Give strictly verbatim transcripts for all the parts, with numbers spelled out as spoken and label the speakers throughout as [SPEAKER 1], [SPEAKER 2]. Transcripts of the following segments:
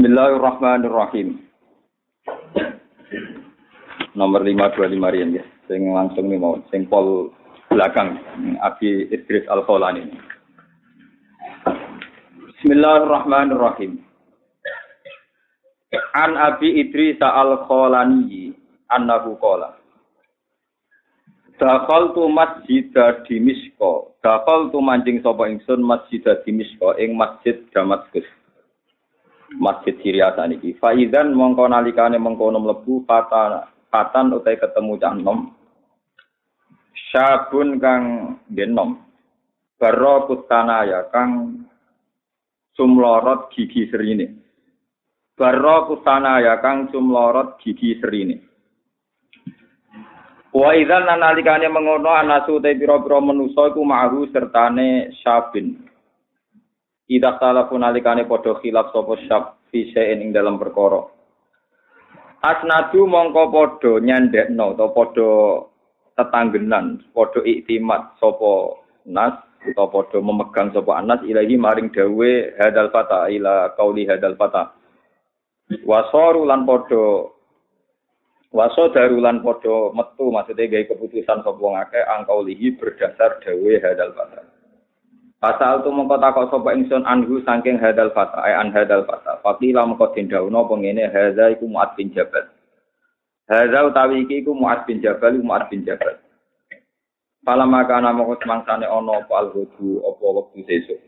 [SPEAKER 1] Bismillahirrahmanirrahim. Nomor lima dua lima rian ya. Sing langsung nih mau sing pol belakang Abi Idris Al-Kholani. Bismillahirrahmanirrahim. An Abi Idris Al-Kholani annahu qala. Dakhaltu masjida Dimishqa. Dakhaltu manjing sapa ingsun masjida Dimishqa ing Masjid Damaskus. Masjid Syria saniki. Faizan mongko nalikane mengkono mlebu fatan fatan utai ketemu cah nom. Syabun kang genom. Baro kutanaya kang sumlorot gigi serine. Baro kutanaya kang sumlorot gigi serine. Wa idzan nalikane mengono anasu utai pira-pira manusa iku ma'ru sertane syabin. Ida salah pun alikane podo khilaf sopo syab fisein ing dalam perkara. Asnadu mongko podo nyandekno atau podo tetanggenan, podo iktimat sopo nas atau podo memegang sopo anas ilahi maring dawe hadal fata ila qauli hadal fata. Wasoru lan podo waso darulan podo metu maksudnya gawe keputusan sopo ngake angkaulihi berdasar dawe hadal fata. Pasal tu mongko takok sapa ingsun anhu saking hadal fata ay an hadal fata faqila mongko dendhauna pengene hadza iku Mu'adz bin Jabal hadza utawi iki iku Mu'adz bin Jabal Mu'adz bin Jabal pala makana mongko semangsane ana apa alhudu apa wektu sesuk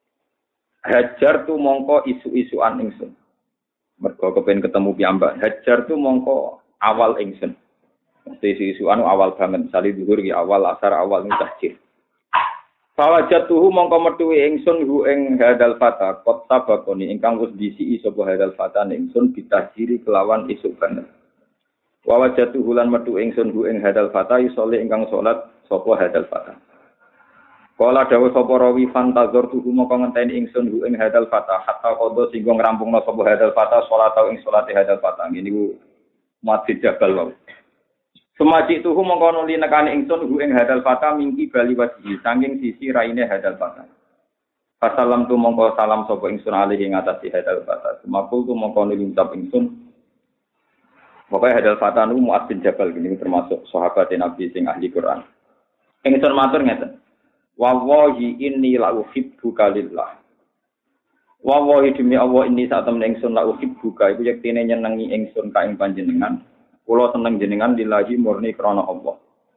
[SPEAKER 1] hajar tu mongko isu-isuan ingsun mergo kepen ketemu piyambak hajar tu mongko awal ingsun mesti isu-isuan awal banget misale dhuwur iki awal asar awal tahjir. Fawajatuhu mongko metuwi ingsun hu ing hadal fata qad sabaqoni ingkang wis disiki sapa hadal fata ingsun bitahjiri kelawan isuk banget. Fawajatuhu lan metu ingsun hu ing hadal fata isole ingkang salat sapa hadal fata. Kala dawuh sapa rawi fantazor tuhu mongko ngenteni ingsun hu ing hadal fata hatta qada singgo ngrampungna sapa hadal fata salat tau ing salate hadal fata niku Masjid Jabal wae. Semaji tuhu mengkono li nekane ingsun hu ing hadal fata mingki bali wajhi saking sisi raine hadal fata. Fasalam tu mongko salam sapa ingsun alih ing atase hadal fata. Semakul tu mongko ngucap ingsun. Pokoke hadal fata nu Mu'adz bin Jabal ini termasuk sahabat Nabi sing ahli Quran. Ingsun matur ngeten. Wallahi inni la uhibbuka lillah. Wallahi demi Allah inni sak temen ingsun la uhibbuka iku yektine nyenengi ingsun ka ing panjenengan. Kula seneng jenengan lillahi murni krana Allah.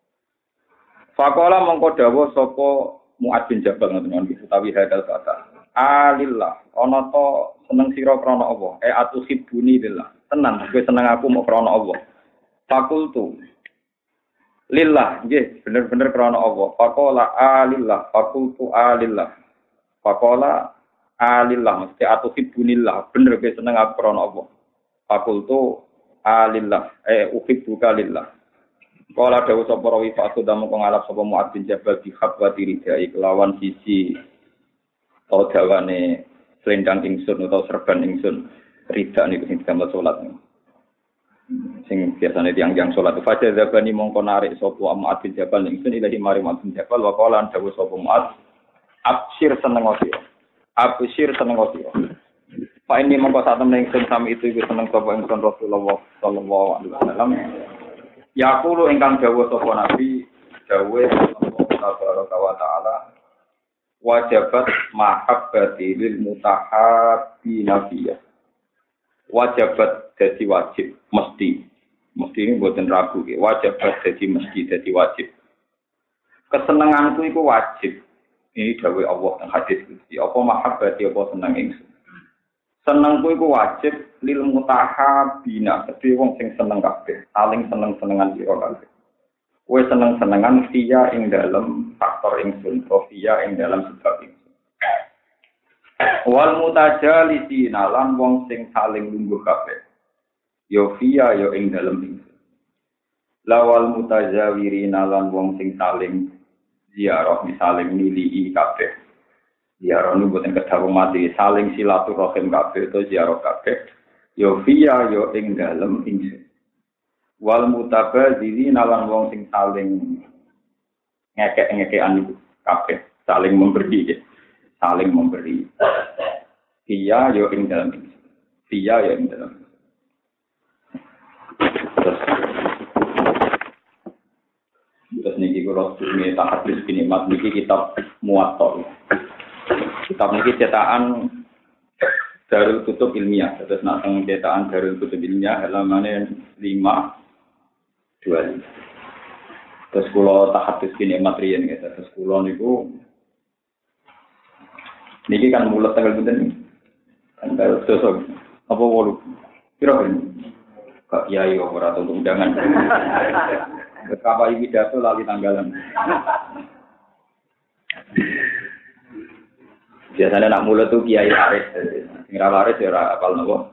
[SPEAKER 1] Faqala mongko dawuh sapa Mu'adz bin Jabal ngoten utawi hadal fata. Alillah ana to seneng sira krana Allah. E atuhibbuni lillah. Tenan kowe seneng aku mok krana Allah. Fakultu lillah nggih bener-bener krana Allah. Faqala alillah fakultu alillah. Faqala alillah mesti atuhibbunillah bener kowe seneng aku krana Allah. Fakultu alillah eh uhibbuka lillah. Kala dawuh sapa rawi fa sedam kang ngalap sapa Mu'adz bin Jabal di khabwati ridai kelawan sisi utawa dawane selendang ingsun utawa serban ingsun rida niku sing digambar salat niku. Sing biasane tiyang-tiyang salat fajar zabani mongko narik sapa Mu'adz bin Jabal ingsun ilahi mari Mu'adz bin Jabal wa qala dawuh sapa Mu'adz absyir seneng sira. Absyir seneng sira. Pak ini mongko sak temen ingsun sami itu iku seneng sapa ingsun Rasulullah sallallahu alaihi wasallam. Yaqulu ingkang dawuh sapa Nabi dawuh Allah wa taala wajabat mahabbati lil mutahabbi nabiyya. Wajabat dadi wajib mesti. Mesti ini mboten ragu iki. Wajabat dadi mesti dadi wajib. Kesenenganku iku wajib. Ini dawuh Allah teng hadis iki. Apa mahabbati apa seneng ingsun. Senengku iku wajib lil mutahabina, kedhe wong sing seneng kabeh, saling seneng-senengan sira kabeh. Kowe seneng-senengan via ing dalem faktor ingsun, via ing dalem sebab ingsun. Wal mutajalisina lan wong sing saling lungguh kabeh. Yo via yo ing dalem ingsun. Lawal mutajawirina lan wong sing saling ziarah misaling nilii kabeh. Ziarah ini buatan kedawang mati, saling silaturahim kabeh atau ziarah kabeh. Yo via yo ing dalem ingsun. Wal mutabadziri nalan wong sing saling ngekek-ngekekan itu kabeh, saling memberi, saling memberi. Via yo ing dalem ingsun. dia ya ing dalam. Terus terus niki kula sing tahadus kinimat niki kitab Muwatta. Kitab niki cetakan Darul Kutub Ilmiah. Terus nak teng cetakan Darul Kutub Ilmiah halamane lima dua lima. Terus kula tahadus kinimat riyen gitu. Terus kula niku niki kan mulut tanggal pinten niki. Tanggal sosok apa wolu. Piro ben? Kak Yai ora untuk undangan. Betapa iki pidato lali tanggalan. Biasanya nak mulut tuh Kiai Aris. Sing ra waris ya ora apal napa.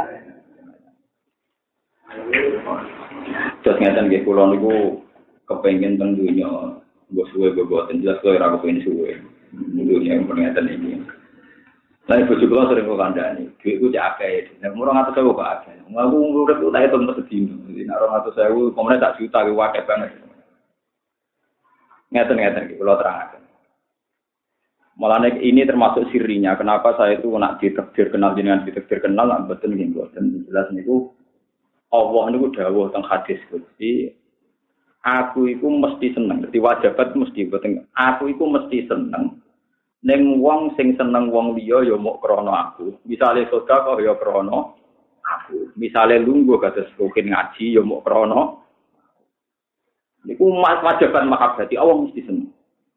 [SPEAKER 1] Terus ngeten nggih kula niku kepengin teng dunya mbok suwe boten jelas kok ora kepengin suwe. Dunya ngeten iki. Lah ibu juga sering kok kandhani, dhuwitku cek akeh. Nek murah ngatus sewu kok akeh. Aku urip tak hitung sedino. Jadi nek ora ngatus sewu, komene tak juta ki akeh banget. Ngeten-ngeten iki kula terangaken. Mulane ini termasuk sirinya kenapa saya itu nak ditakdir kenal jenengan ditakdir kenal nak mboten nggih mboten jelas niku Allah niku dawuh teng hadis Gusti aku iku mesti seneng. Dadi wajibat mesti mboten aku iku mesti seneng. Ning wong sing seneng wong liya ya mok krana aku. Misale sedekah ya krana aku. Misale lungguh kados rukin ngaji ya mok krana niku wajiban mahabbati Allah mesti seneng.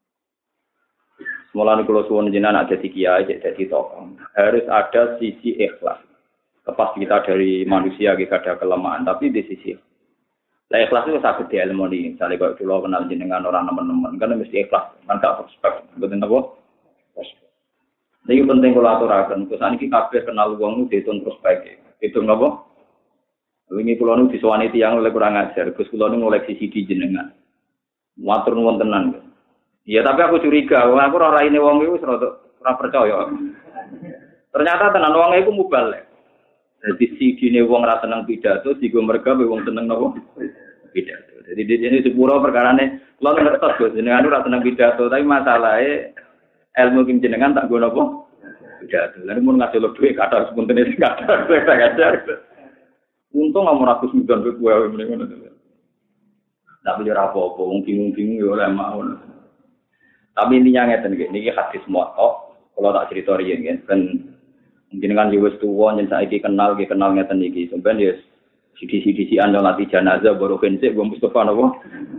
[SPEAKER 1] Mulane kula suwun jenengan ada di kiai dadi tokoh. Harus ada sisi ikhlas. Lepas kita dari manusia kita ada kelemahan tapi di sisi lah ikhlas itu saged dielmoni. Misale kok kula kenal jenengan orang teman-teman kan mesti ikhlas. Kan gak prospek. Mboten apa? Ini penting kalau aturakan. Terus ini kabeh kenal wong itu dihitung prospek. Hitung apa? Ini kalau nu diswani tiang oleh kurang ajar. Terus kalau nu ngoleksi C D jenengan. Matur nuwun tenan. Ya tapi aku curiga. Aku ora ini wong itu ora percaya. Ternyata tenan wong itu mubalek. Jadi C D ne wong ra seneng pidato, digo merga wong seneng napa? Pidato. Jadi di sini sepuro perkarane kula ngertos Gus jenengan ora seneng pidato, tapi masalahe ilmu kim jenengan tak gono apa? Pidato. Lan mun ngasih dhuwit kathah sepuntene sing kathah ngajar. Untung nomor aku sembilan ribu wae meneh ngono. Tapi ora apa-apa, wong bingung-bingung ya ora mau. Tapi intinya ngeten nggih, niki hadis Muwatta, kula tak crito riyen nggih, ben jenengan wis tuwa yen saiki kenal nggih kenal ngeten iki. Sampeyan ya sidi-sidi-sian nyolati jenazah baru kensik wong Mustofa napa.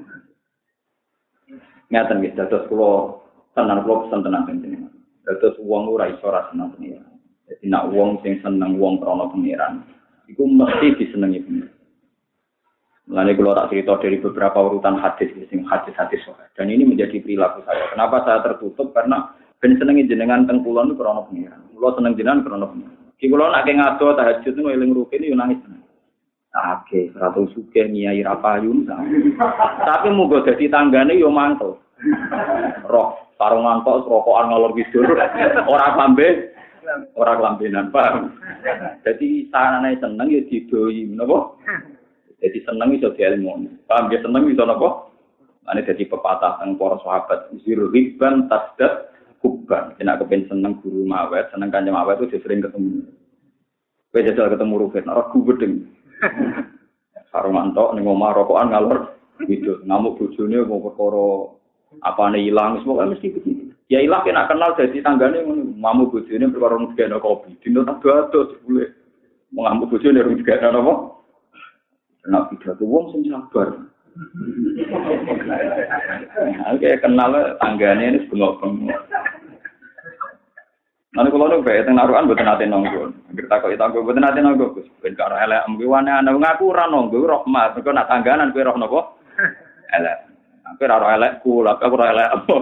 [SPEAKER 1] Ngeten nggih, dados kula tenan kula pesen tenan jenengan. Dados wong ora iso ora seneng pengiran. Dadi nek wong sing seneng wong krana pengiran, iku mesti disenengi pengiran. Mulane kula tak cerita dari beberapa urutan hadis sing hadis-hadis soal. Dan ini menjadi perilaku saya. Kenapa saya tertutup? Karena ben senengi jenengan teng kula niku krana pengiran. Kula seneng jenengan krana pengiran. Ki kula nek ngado tahajud niku eling rukin yo nangis. Oke, ratu sugih nyai ra payun. Tapi muga dadi tanggane yo mantel. Roh sarungan tok rokokan ngalor kidul. Ora sampe ora kelambenan, paham. Jadi sanane seneng ya didoi, napa? Jadi seneng iso dielmoni. Paham ya seneng iso napa? Ane dadi pepatah teng para sahabat, zirriban tasdad kubban. Nek kepen seneng guru mawet, seneng kanjeng mawet itu sering ketemu. Kowe jajal ketemu Rufin, ora gubedeng. Sarungan tok ning omah rokokan ngalor kidul. Ngamuk bojone mau perkara apane ilang, semoga mesti begitu. Ya ilang kena kenal jadi tanggane ngono, mamu bojone perkara ngene kopi. Dino tak ado sebule. Mengamuk bojone rung digane apa? Nek pidato wong sing sabar. Oke, kenal tanggane ini bengok-bengok. Nanti kalau nu bae teng narukan mboten nate nonggo. Anggere takoki tanggo mboten nate nonggo, Gus. Ben karo elek mbiwane ana ngaku ora nonggo rahmat. Mergo nak tangganan kowe roh napa? Elek. Kowe ora roh elekku, lha aku ora elek apa.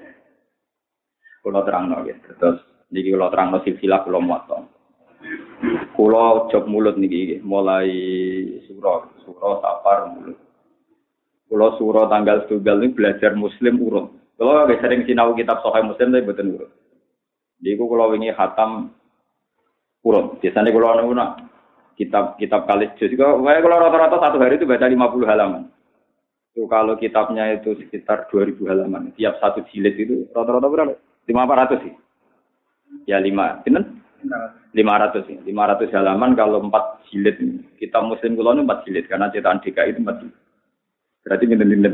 [SPEAKER 1] Kula terangno nggih. Terus niki kula terangno silsilah kula Muwatta. Kula jog mulut niki mulai surah, surah Safar mulut. Kula surah tanggal setunggal ini belajar muslim urut. Kula nggih sering sinau kitab Sahih Muslim tapi mboten urut. Niku kula wingi khatam urut. Biasane kula niku nak kitab-kitab kalis juz kok wae kula rata-rata satu hari itu baca lima puluh halaman. Itu kalau kitabnya itu sekitar dua ribu halaman. Tiap satu jilid itu rata-rata berapa? lima ratus sih. Ya lima. Pinten? lima ratus lima ratus halaman kalau empat jilid. Kita muslim kula nu empat jilid karena cetakan D K I itu empat jilid. Berarti pinten-pinten.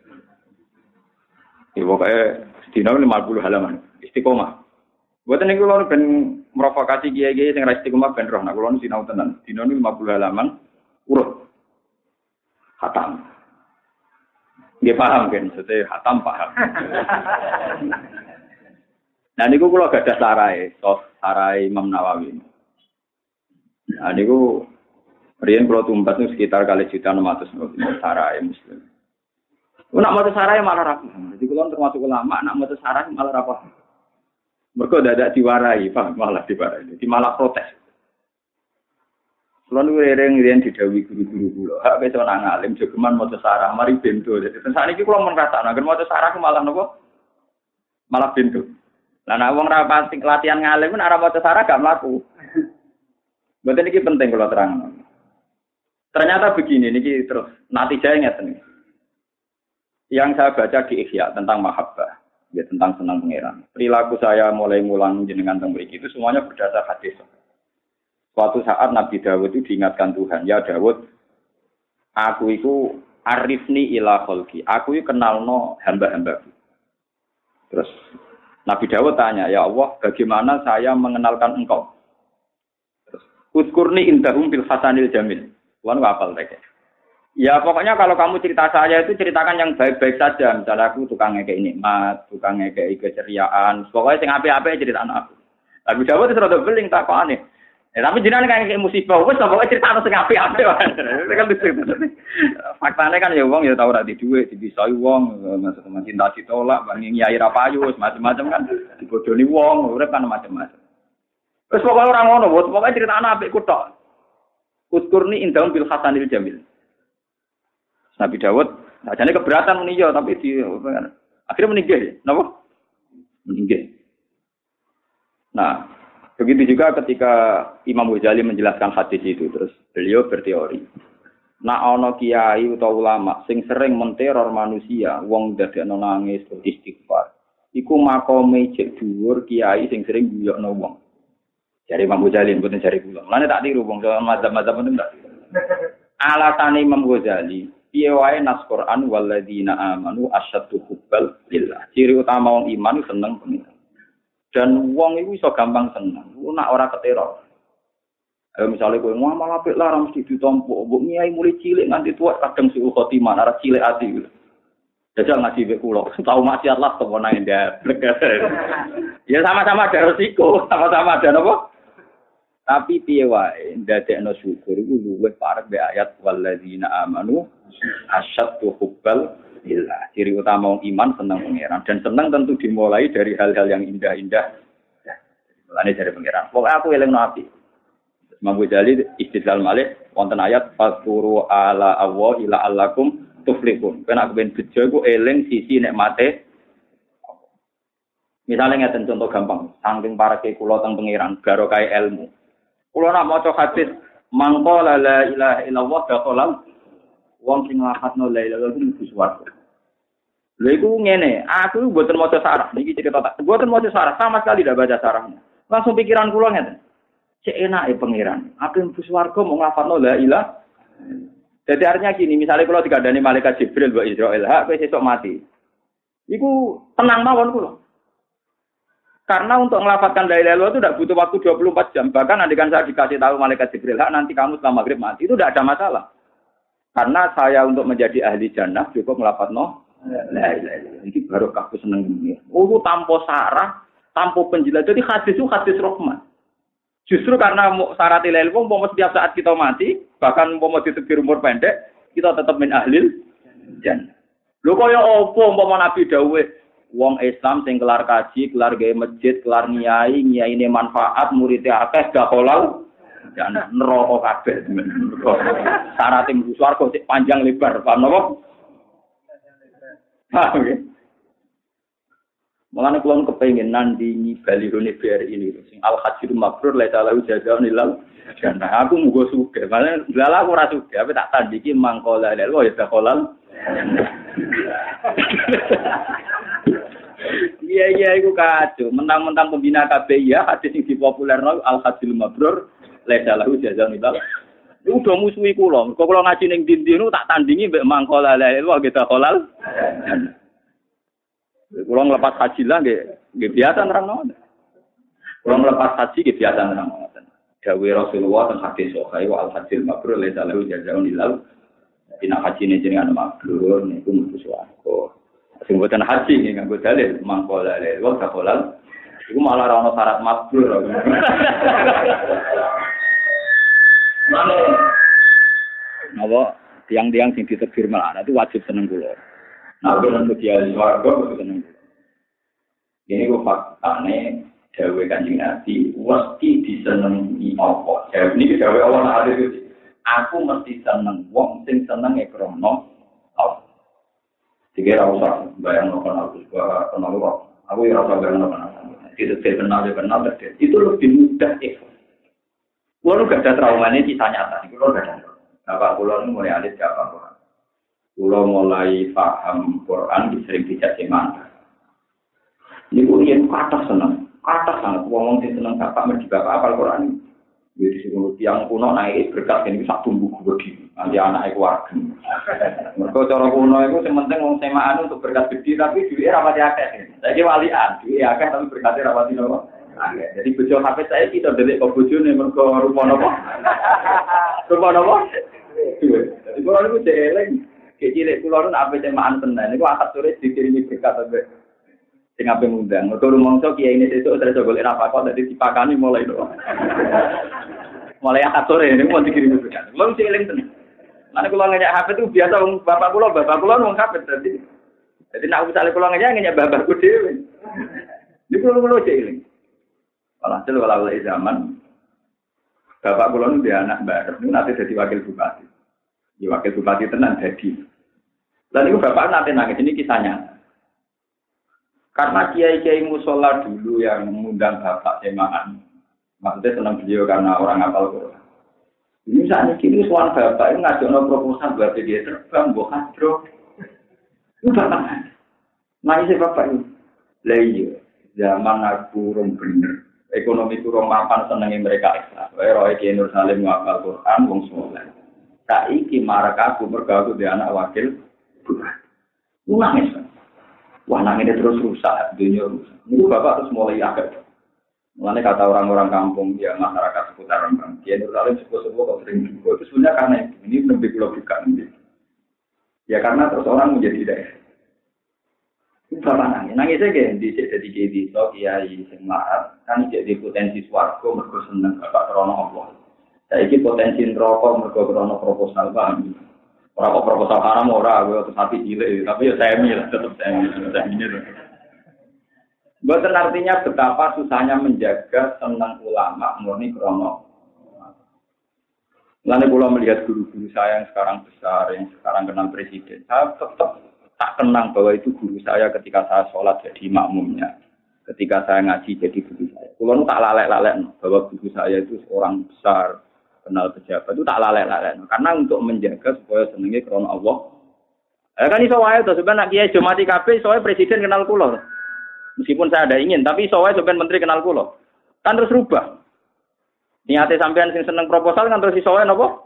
[SPEAKER 1] Ya pokoknya sedina lima puluh halaman. Istiqomah. Mboten niku kula ben provokasi kiai-kiai sing ra istiqomah ben roh. Nah kula nu sinau tenan. Dina lima puluh halaman urut. Khatam. Nggih paham kan, sete khatam paham. Nah niku kula gadah sarai, sos sarai Imam Nawawi. Nah niku riyen kula tumpas niku sekitar kali juta enam ratus sarai muslim. Nak maca sarai malah ra paham. Jadi kula termasuk ulama, nak maca sarai malah ra paham. Mergo dadak diwarai, paham malah diwarai. Jadi malah protes. Kula niku rering-rering didhawuhi guru-guru kula. Hak wis ana ngalim jogeman maca sarah mari bento. Dadi sakniki kula men rasakno agen maca sarah malah napa? Malah bento. Lah nek wong ra pasti latihan ngalim nek ora maca sarah gak mlaku. Mboten iki penting kula terangno. Ternyata begini niki terus natijane ngeten iki. Yang saya baca di Ihya tentang mahabbah, ya tentang senang pangeran. Perilaku saya mulai mulang jenengan teng mriki itu semuanya berdasar hadis. Suatu saat Nabi Dawud itu diingatkan Tuhan, ya Dawud, aku itu arifni ila kholki, aku itu kenalno hamba-hambaku. Terus Nabi Dawud tanya, ya Allah, bagaimana saya mengenalkan engkau? Terus, Udkurni indahum bil hasanil jamil. Tuhan hafal mereka. Ya pokoknya kalau kamu cerita saya itu ceritakan yang baik-baik saja. Misalnya aku tukang ngekei nikmat, tukang ngekei keceriaan, pokoknya sing apik-apik cerita anak aku. Nabi Dawud itu rada beling takokane. Ya, tapi jenengan kayak musibah, wes pokoknya cerita sing apik-apik. Kan lucu. Faktane kan ya wong ya tau ora di dhuwit, dibisoi wong, maksud cinta ditolak, bang nyai ra payu, macam-macam kan dibodoni wong, urip kan macam-macam. Wes pokoknya ora ngono, pokoknya cerita anak apik ku tok. Udkurni indahum bil hasanil jamil. Nabi Dawud, ajane keberatan muni yo tapi di akhirnya meninggal. Napa? Meninggal. Nah, begitu juga ketika Imam Ghazali menjelaskan hadis itu, terus beliau berteori. Nak ana kiai utawa ulama sing sering menteror manusia, wong dadekno nangis istighfar. Iku makome jek dhuwur kiai sing sering guyokno wong. Jare Imam Ghazali mboten jare kula. Mulane tak tiru wong mazhab-mazhab mboten tak. Alasane Imam Ghazali, piye wae nas Quran walladzina amanu asyaddu hubbal lillah. Ciri utama wong iman seneng pengiran. Dan wong iku iso gampang seneng. Ku nak ora keteror. Ayo misale kowe ngamal apik lah mesti ditampa. Mbok nyai mulai cilik nganti tuwa kadang suul khotimah, ora cilik ati. Jajal ngaji wek kula. Tau maksiat lah tepo nang ndablek. Ya sama-sama ada resiko, sama-sama ada napa? Tapi piye wae ndadekno syukur iku luwih parek be ayat walladzina amanu asyaddu hubbal lillah. Ciri utama wong iman seneng pangeran dan seneng tentu dimulai dari hal-hal yang indah-indah. Mulane dari pangeran. Pokoke aku elingno ati. Imam Ghazali istidlal malih wonten ayat fasturu ala Allah ila allakum tuflihun. Pen aku ben bejo iku eling sisi nikmate. Misalnya ngeten contoh gampang, saking pareke kula teng pangeran barokah ilmu. Kula nak maca hadis mangko la ilaha illallah dakhalal wong sing nglafadzno la ilaha illallah mlebu swarga. Lha iku ngene, aku mboten maca sarah, niki cerita tak. Mboten maca sarah, sama sekali tidak baca sarahnya. Langsung pikiran kula ngeten. Cek enake pangeran, aku mlebu swarga mau nglafadzno la ilaha. Jadi artinya gini, misalnya kalau dikandani malaikat Jibril wa Israil, hak kowe sesuk mati. Iku tenang mawon kula. Karena untuk melafatkan la ilaha illallah itu tidak butuh waktu dua puluh empat jam. Bahkan andikan saya dikasih tahu malaikat Jibril, nanti kamu setelah maghrib mati, itu tidak ada masalah. Karena saya untuk menjadi ahli jannah cukup melafatno la ilaha illallah. Ini baru aku seneng ini. Oh, itu tanpa sarah, tanpa penjelasan. Jadi hadis itu hadis rahmat. Justru karena syarat la ilaha illallah, setiap saat kita mati, bahkan umpama ditebir umur pendek, kita tetap min ahlil jannah. Lho kaya apa umpama Nabi dawuh wong Islam sing kelar kaji, kelar gawe masjid, kelar nyai, nyaine manfaat, muridé akeh gak halal, jan neraka kabeh. Syarat mlebu swarga sik panjang lebar, paham napa? Ha, oke. Mulane kula kepengin nandingi balirone B R I ini sing al-hajjul mabrur la ta'ala jazaa'un lil jannah. Aku muga sugih. Malah lha aku ora sugih, tapi tak tandiki mangkola lho ya halal. Iya iya iku kacau. Mentang-mentang pembina K B I ya hadis sing dipopulerno al hadil mabrur laisa lahu jazaa'un illa. Iku do musuhi kula. Kok kula ngaji ning ndi-ndi niku tak tandingi mbek mangkola la ilaha kita halal. Kula nglepas haji lah nggih nggih biasa nerangno. Kula nglepas haji nggih biasa nerangno. Dawe Rasulullah teng hadis sahih wa al hadil mabrur laisa lahu jazaa'un illa. Dina haji ne jenengan mabrur niku mlebu swarga. Sing boten haji nggih nganggo dalil mangkola la ilaha kita halal. Iku malah ora ono syarat mabrur. Mana? Napa tiang-tiang sing ditegur malah itu wajib seneng kula. Nah, kalau dia warga kudu seneng. Ini kok faktane dawuh Kanjeng Nabi mesti disenengi apa? Ya niki dawuh Allah Ta'ala itu. Aku mesti seneng wong sing senenge krana Allah. Dikira usah bayang nang aku kenal kok. Aku ora usah bayang nang. Itu kenal kenal itu lebih mudah ikhlas. Kulo gak ada traumanya kisah nyata, kulo gak ada. Bapak kulo ini mulai alit gak apa-apa. Kulo mulai paham Quran, sering dicaci mata. Ini kulo yang kata senang, kata sangat. Ngomong sih senang bapak, mergi bapak apal Quran. Jadi sebelum tiang kuno naik berkat ini bisa tumbuh gede. Nanti anak keluarga. Mereka cara kuno itu sementing ngomong semaan untuk berkat gede, tapi duitnya rapati akeh. Saya walian, duitnya akeh tapi berkatnya rapati nopo. Jadi bojo H P saya kita delik kok bojone mergo rupa napa? Rupa napa? Jadi kula niku jeleng, cilik kula nu ape cemaan tenan. Niku akad sore dikirimi berkat ambek sing ape ngundang. Mergo rumangsa kiai ini sesuk terus golek apa kok dadi dipakani mulai to. Mulai akad sore niku mau dikirimi berkat. Kula jeleng tenan. Mana kula ngajak H P itu biasa wong bapak kula, bapak kula wong H P dadi. Dadi nek misale kula ngajak ngajak bapakku dhewe. Niku kula jeleng. Walhasil walau zaman bapak kula nu dia anak bareng nanti jadi wakil bupati. Di wakil bupati tenan jadi. Lalu itu bapak nanti nangis ini kisahnya. Karena kiai-kiai musola dulu yang mengundang bapak semaan, maksudnya senang beliau karena orang hafal Quran. Ini saat ini suara bapak itu ngajak proposal buat dia terbang, buat hadro. Itu bapak. Nangis bapak itu. Lah iya, zaman aku rum bener. Ekonomi kurang mapan senengi mereka ikhlas. Wae roe Ki Nur Salim ngapal Quran wong saleh. Saiki marak aku mergo aku di anak wakil bupati. Nangis. Wah nangis terus rusak dunia rusak. Niku bapak terus mulai agak. Mulane kata orang-orang kampung ya masyarakat seputar Rembang. Ki Nur Salim sepuh-sepuh kok sering juga. Itu sebenarnya karena ini lebih pulau bukan. Ya karena terus orang menjadi daerah. Bapak nangis, nangis aja di jadi jadi so kiai sing larat kan jadi potensi swarga mergo seneng bapak krana Allah. Saiki potensi neraka mergo krana proposal bang. Ora kok proposal haram ora terus hati cilik tapi ya semi lah tetep semi semi. Boten artinya betapa susahnya menjaga seneng ulama murni krana. Lalu kula melihat guru-guru saya yang sekarang besar yang sekarang kenal presiden, saya tetap tak kenang bahwa itu guru saya ketika saya sholat jadi makmumnya. Ketika saya ngaji jadi guru saya. Kulo tak lalek-lalek bahwa guru saya itu seorang besar, kenal pejabat itu tak lalek-lalek. Karena untuk menjaga supaya senengnya karena Allah. Eh kan iso wae to sampeyan nak kiai jomati kabeh iso wae presiden kenal kulo. Meskipun saya ada ingin, tapi iso wae sampeyan menteri kenal kulo. Kan terus rubah. Niate sampeyan sing seneng proposal kan terus iso wae napa?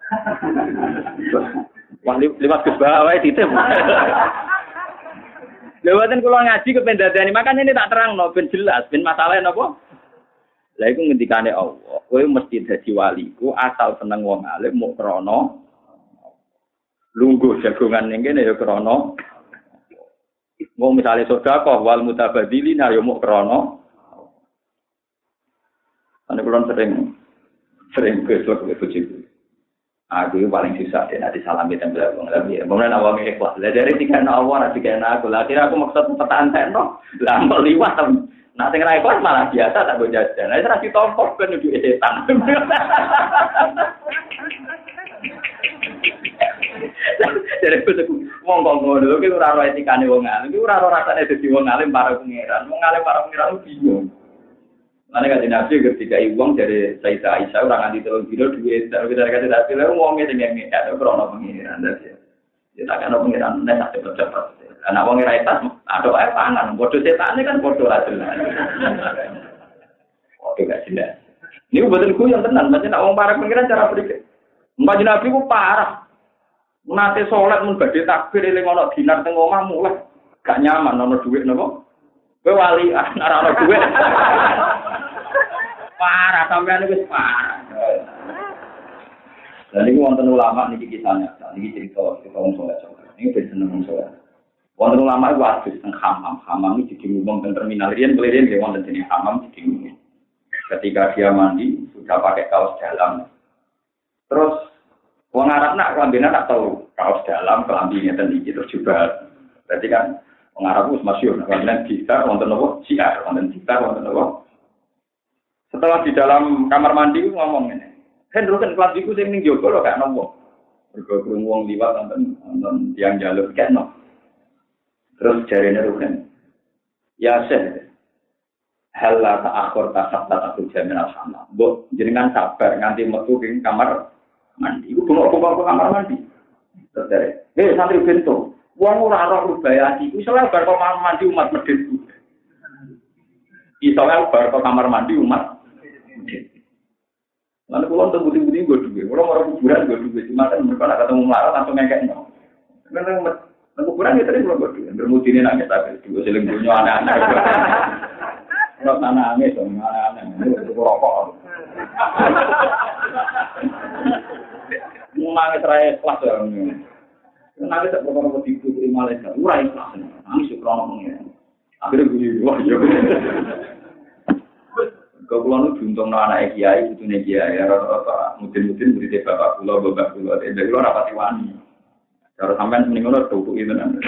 [SPEAKER 1] Wah, lewat Gus Bah wae ditip. Lewatin kula ngaji kepen dadani, makanya ini tak terangno ben jelas, ben masalahe napa? Lah iku ngendikane Allah, kowe mesti dadi waliku asal seneng wong alim muk krana lungguh jagongan ning kene ya krana. Wong misale sedekah wal mutabadzilin ya muk krana. Ane kula sering sering kesuk ke bojoku. Aku paling susah deh nanti salami tempel wong lagi. Kemudian awang ikhlas. Lah dari tiga awang nanti kena aku. Lah kira aku maksud pertahanan tekno. Lah mau liwat. Nah sing ra ikhlas malah biasa tak go jajan. Lah ora ditompok ben duwe setan. Jadi aku wong kok ngono ki ora ora etikane wong alim. Ki ora ora rasane dadi wong alim para pangeran. Wong alim para pangeran bingung. Mana kata Nabi ketika iwang dari Sayyidah Aisyah orang anti telur kilo duit, tapi kita kata Nabi lalu uangnya dengan ngekat, krono pengiran dah sih. Ya tak kena pengiran nek tak cepet-cepet. Anak wong ora etas, ada wae pangan. Bodoh setane kan bodoh ra jelas. Oke gak jelas. Ini betul ku yang tenan, macam nak wong parek pengiran cara berpikir. Mbak Nabi ku parah. Nate salat mun badhe takbir eling ana dinar teng omah mulai gak nyaman ana dhuwit napa? Kowe wali ora ana dhuwit. Parah sampean wis parah. Lan iki wonten ulama niki kisahnya, niki cerita cerita wong saleh. Ini ben seneng wong saleh. Wonten ulama iku adus teng hamam, hamam iki diumum teng terminal riyen kelirian nggih wonten jenenge hamam diumum. Ketika dia mandi sudah pakai kaos dalam. Terus wong Arab nak kelambine tak tahu kaos dalam kelambi ngeten iki terus juga. Berarti kan wong Arab wis masyhur kelambinan gitar wonten napa? Siar, wonten gitar wonten napa? Setelah di dalam kamar mandi ngomong ngene. Hen ruken kelambiku sing ning jaba lho gak nopo. Mergo krungu wong liwat wonten wonten tiyang jaluk kene. Terus jarene ruken. Ya seh. Halla ta'akhir tasabta takul jamin al-hamam. Mbok jenengan sabar nganti metu ing kamar mandi. Iku bengok-bengok ke kamar mandi. Terus dari, eh santri bento, wong ora roh rubaya iki. Iso bar kok kamar mandi umat medhit. Iso bar kok kamar mandi umat medhit. Lan kula teng budi-budi nggo dhuwit. Kula ora kuburan nggo dhuwit. Cuma kan mergo nek ketemu melarat langsung ngekekno. Nang nang kuburan ya tadi kula nggo dhuwit. Bermudine nang kita dhuwit seling dunyo anak-anak. Ora tanane to anak-anak. Itu rokok. Nangis rae kelas ya. Nangis tak perkara tipu di Malaysia. Ora ikhlas. Nangis krono pengen. Akhire guni wah yo. Kau pulang itu juntung anak kiai, itu nih kiai, rata-rata mungkin-mungkin beri bapak pulau, bapak pulau, dari luar rapati wani. Kalau sampai meninggal tuh itu nanti.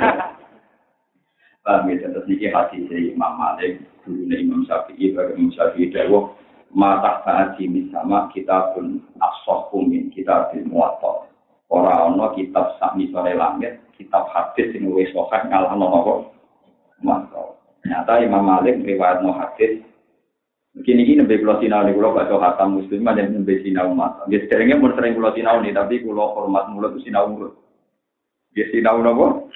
[SPEAKER 1] Paham gitu, terus niki hati si Imam Malik, dulu nih Imam Syafi'i, bagi Imam Syafi'i dawuh mata saat ini sama kita pun asal kumin kita di muatal. Orang-orang kitab sami sore langit, kitab hadis yang wes sokat ngalah nopo muatal. Ternyata Imam Malik riwayat no hadis. Begini ini nembe kula sinau niku kula baca khatam muslim dan nembe sinau umat. Nggih sederenge mun sering kula sinau nih tapi kula hormat mulut sinau mulut. Nggih sinau napa?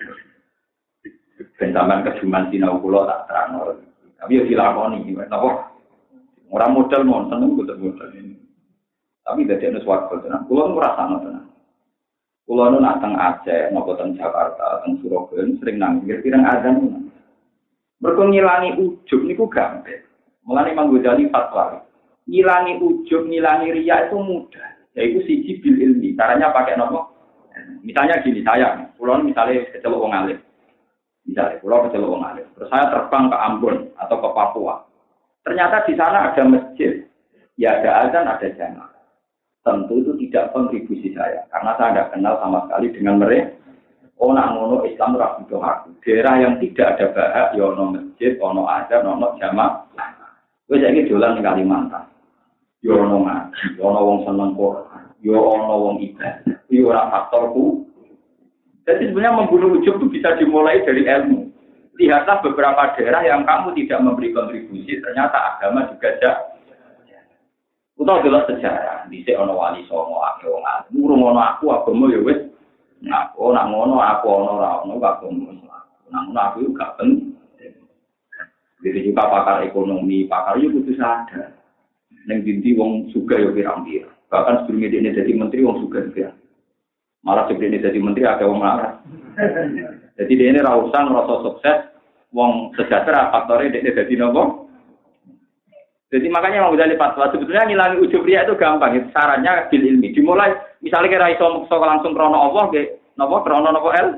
[SPEAKER 1] Ben sampean keduman sinau kula tak terangno. Tapi yo dilakoni napa? Ora modal mon seneng boten modal ini. Tapi dadi ana swarga tenan. Kula ngrasakno tenan. Kula nu nak teng Aceh, napa teng Jakarta, teng Surabaya sering nang pirang azan. Mergo ngilangi ujug niku gampang. Mulane Imam Ghazali fatwa. Ngilangi ujub, ngilangi riya itu mudah. Yaitu siji bil ilmi. Caranya pakai nopo? Misalnya gini, saya, pulau misalnya kecelok wong alim. Misalnya pulau kecelok wong alim. Terus saya terbang ke Ambon atau ke Papua. Ternyata di sana ada masjid. Ya ada azan, ada jamaah. Tentu itu tidak kontribusi saya. Karena saya tidak kenal sama sekali dengan mereka. Oh nak ngono Islam ora butuh aku. Daerah yang tidak ada bahak, ya ono masjid, ono azan, ono jamaah. Wis saiki dolan ning Kalimantan. Yo ono ngaji, ono wong seneng Quran, yo ono wong ibadah. Yo ora faktorku. Jadi sebenarnya membunuh ujub itu bisa dimulai dari ilmu. Lihatlah beberapa daerah yang kamu tidak memberi kontribusi, ternyata agama juga ada. Utawa delok sejarah, dhisik ono wali songo akeh wong alim. Ngono aku agama yo wis nak oh nak ngono aku ono ora ono agama. Nang ngono aku gak penting. Jadi juga pakar ekonomi, pakar itu kudu sadar. Neng dinti wong suga yo pirang-pirang. Bahkan sebelum ini jadi menteri wong suga ya. Malah sebelum ini jadi menteri ada wong marah. Jadi dia ini rausan rasa sukses, wong sejahtera faktornya dia jadi nopo. Jadi makanya mau jadi fatwa sebetulnya ngilangi ujub riya itu gampang. Itu sarannya bil ilmi. Dimulai misalnya kira iso langsung krono Allah ke nopo krono nopo el.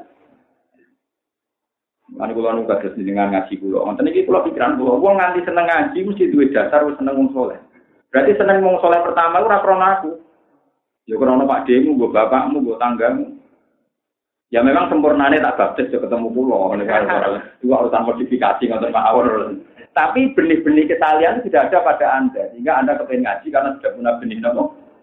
[SPEAKER 1] Mane kula nu kados dengan ngaji kula. Wonten iki kula pikiran kula, wong nganti seneng ngaji mesti duwe dasar wis seneng wong saleh. Berarti seneng wong saleh pertama ora krana aku. Ya krana Pak Demu, mbok bapakmu, mbok tanggamu. Ya memang sempurnane tak baptis yo ketemu kula ngene karo dua urusan modifikasi ngoten mawon. Tapi benih-benih kesalian tidak ada pada Anda. Sehingga Anda kepengen ngaji karena sudah punya benih napa?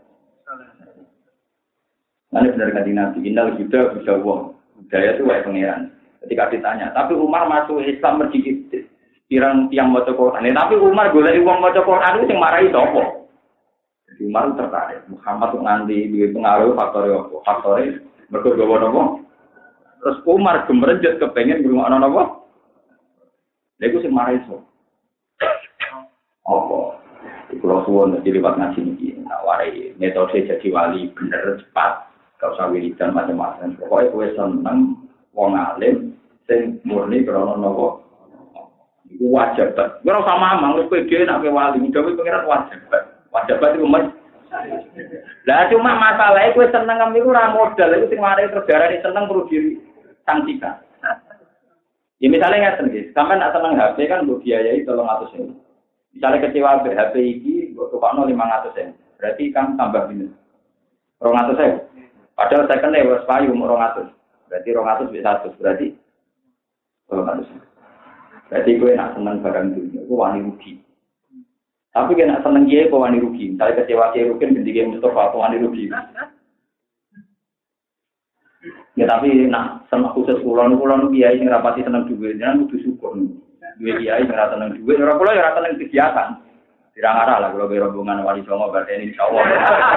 [SPEAKER 1] Nah, benar kata Nabi, innal huda bisa wong. Budaya itu wae pangeran. Ketika ditanya, tapi Umar masuk Islam mergi pirang tiang maca Quran. Tapi Umar golek wong maca Quran itu sing marahi sapa? Jadi Umar tertarik. Muhammad nganti duwe pengaruh faktor apa? Faktor Mergo gawa napa? Terus Umar gemerenjet kepengin ngrungokno napa? Lha iku sing marai iso. Apa? Kalau suwon jadi lewat ngaji ini, nak warai metode jadi wali bener cepat, gak usah wiridan macam-macam. Pokoknya gue seneng wong alim, sing murni krono nopo, itu wajib banget. Gue rasa mamang, lu pede nak wali, udah gue pengiran wajib banget, wajib banget itu mas. Lah cuma masalahnya gue seneng ngambil itu modal, itu sing warai terdarah ini seneng perlu diri sanksikan. Ya misalnya nggak sendiri, sampai nak seneng H P kan gue biayai tolong atus ini. Misalnya kecewa H P ini, gue tukar lima ratus sen, berarti kan tambah minus. Rong atus sen, padahal saya kena was payu rong atus, berarti rong atus bisa satu, berarti rong atus. Berarti gue nak seneng barang dunia, gue wani rugi. Tapi gue nak seneng dia, gue wani rugi. Misalnya kecewa dia rugi, ganti dia Mustafa, gue wani rugi. Ya tapi nak seneng khusus kulon, kulon biaya yang rapati seneng juga, jangan butuh syukur. Dua kiai ngerasa neng duit, orang pulau ngerasa neng kegiatan. Tidak ngarah lah kalau rombongan wali songo berarti ini insya Allah.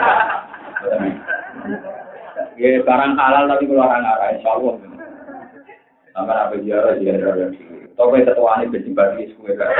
[SPEAKER 1] Ya barang halal tapi kalau orang ngarah insya Allah. Sampai apa ziarah ziarah yang sih. Tapi ketua ini berjibadi sekue kan.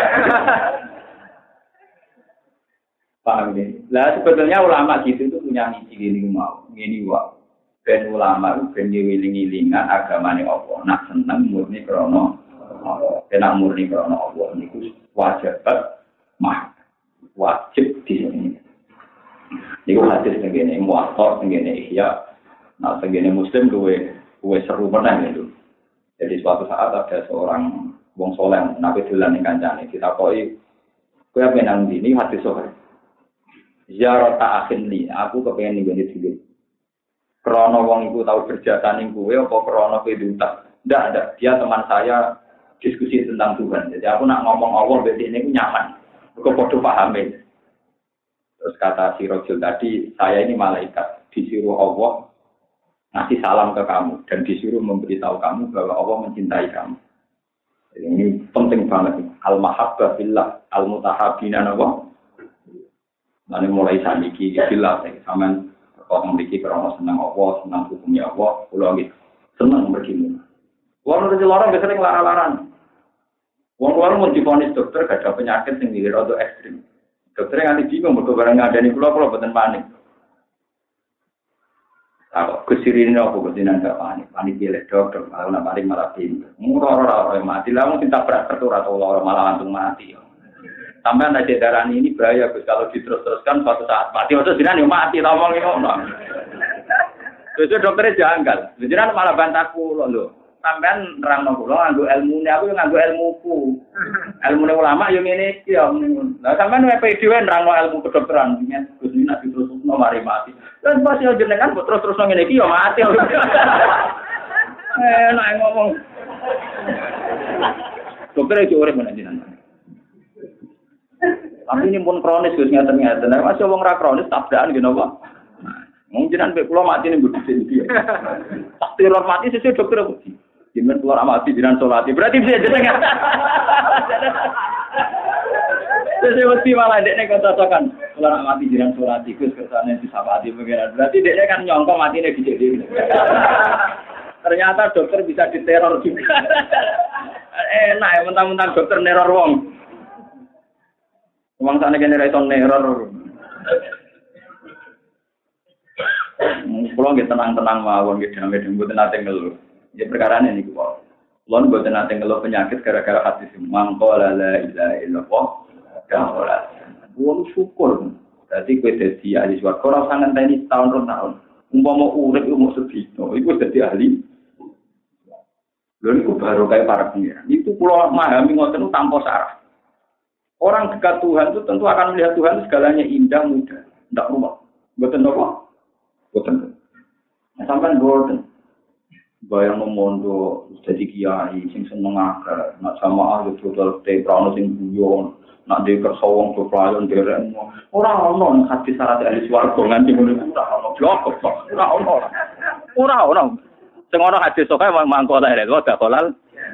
[SPEAKER 1] Paham ini? Lah sebetulnya ulama gitu itu punya misi gini mau, gini wah. Ben ulama itu ben diwiling-wilingan agamanya Allah. Nak seneng murni krono. Kena murni karena Allah niku wajib mah wajib di sini. Niku hadis tengene muwatta tengene ihya. Nah tengene muslim duwe duwe seru meneh itu. Jadi suatu saat ada seorang wong saleh nabi dolan ning kancane ditakoki kowe apa nang ndi ini hadis sahih. Ziarah ta'akhin li aku kepengin nggone dhewe. Krana wong iku tau berjasa ning kowe apa krana kowe diutak. Ndak ada dia teman saya diskusi tentang Tuhan. Jadi aku nak ngomong Allah berarti ini nyaman. Aku podo pahami. Terus kata si Rojul tadi, saya ini malaikat. Disuruh Allah ngasih salam ke kamu. Dan disuruh memberitahu kamu bahwa Allah mencintai kamu. Jadi ini penting banget. Al-mahabbah billah. Al-mutahabina Allah. Nanti mulai saniki. Billah. Sama orang memiliki kerana senang Allah. Senang hukumnya Allah. Pulau gitu. Senang begini. Wong ora dilarang sering larang-larang. Wong luar mau divonis dokter gak ada penyakit sing dikira rada ekstrim. Dokter nganti bingung mergo barang ngadani kula kula boten panik. Aku kesirine apa kesinan gak panik. Panik dilek dokter malah nak paling malah pinter. Murah ora mati lah mung ditabrak kertu atau ora malah langsung mati. Sampai ada darah ini bahaya Gus kalau diterus-teruskan suatu saat mati terus jenengan yo mati ta wong ngono. Terus dokternya janggal. Jenengan malah bantahku lho. Sampean nerangno kula nganggo ilmune aku yo nganggo ilmuku. Ilmune ulama yo ngene iki yo. Lah sampean wepe dhewe nerangno ilmu kedokteran nyet Gus ini nek terus-terusno mari mati. Terus pas yo jenengan terus-terusno ngene iki yo mati. Eh nek ngomong. Dokter iki urip menawa jenengan. Tapi ini pun kronis Gus ngeten-ngeten. Nek masih wong ra kronis tabrakan ngene apa? Wong jenengan mek kula mati ning bodho iki. Tak teror mati sesuk dokter iki. Jimen keluar amati jiran solati. Berarti bisa jenengan. Saya mesti malah dekne kocok-cocokan. Keluar amati jiran solati Gus kersane disapati pengiran. Berarti dekne kan nyongko matine dicek dhewe. Ternyata dokter bisa diteror juga. Enak ya mentang-mentang dokter neror wong. Wong sakne kene ra iso neror. Kulo nggih tenang-tenang mawon nggih damai-damai mboten nate ngeluh. Ya perkara ini niku kok. Kulo mboten nate ngeluh penyakit gara-gara hadis mangko la ilaha illallah. Kaola. Wong syukur. Dadi kowe dadi ahli swarga ora usah ngenteni tahun rong tahun. Umpama urip umur sedina, iku dadi ahli. Lha niku baru kaya para pengiran. Itu kulo memahami ngoten tanpa sarah. Orang dekat Tuhan itu tentu akan melihat Tuhan segalanya indah, mudah, ndak rumah. Mboten napa? Boten. Nah, sampean boten. Bayang memondo dadi kiai sing seneng akeh, nak sama ahli total te prano sing guyon, nak de kersa wong peplayon derek. Ora ono hadis syarat ahli swarga nganti ngono ora ono blok kok. Ora ono. Ora ono. Sing ono hadis sok ae mangko ta rek kok halal.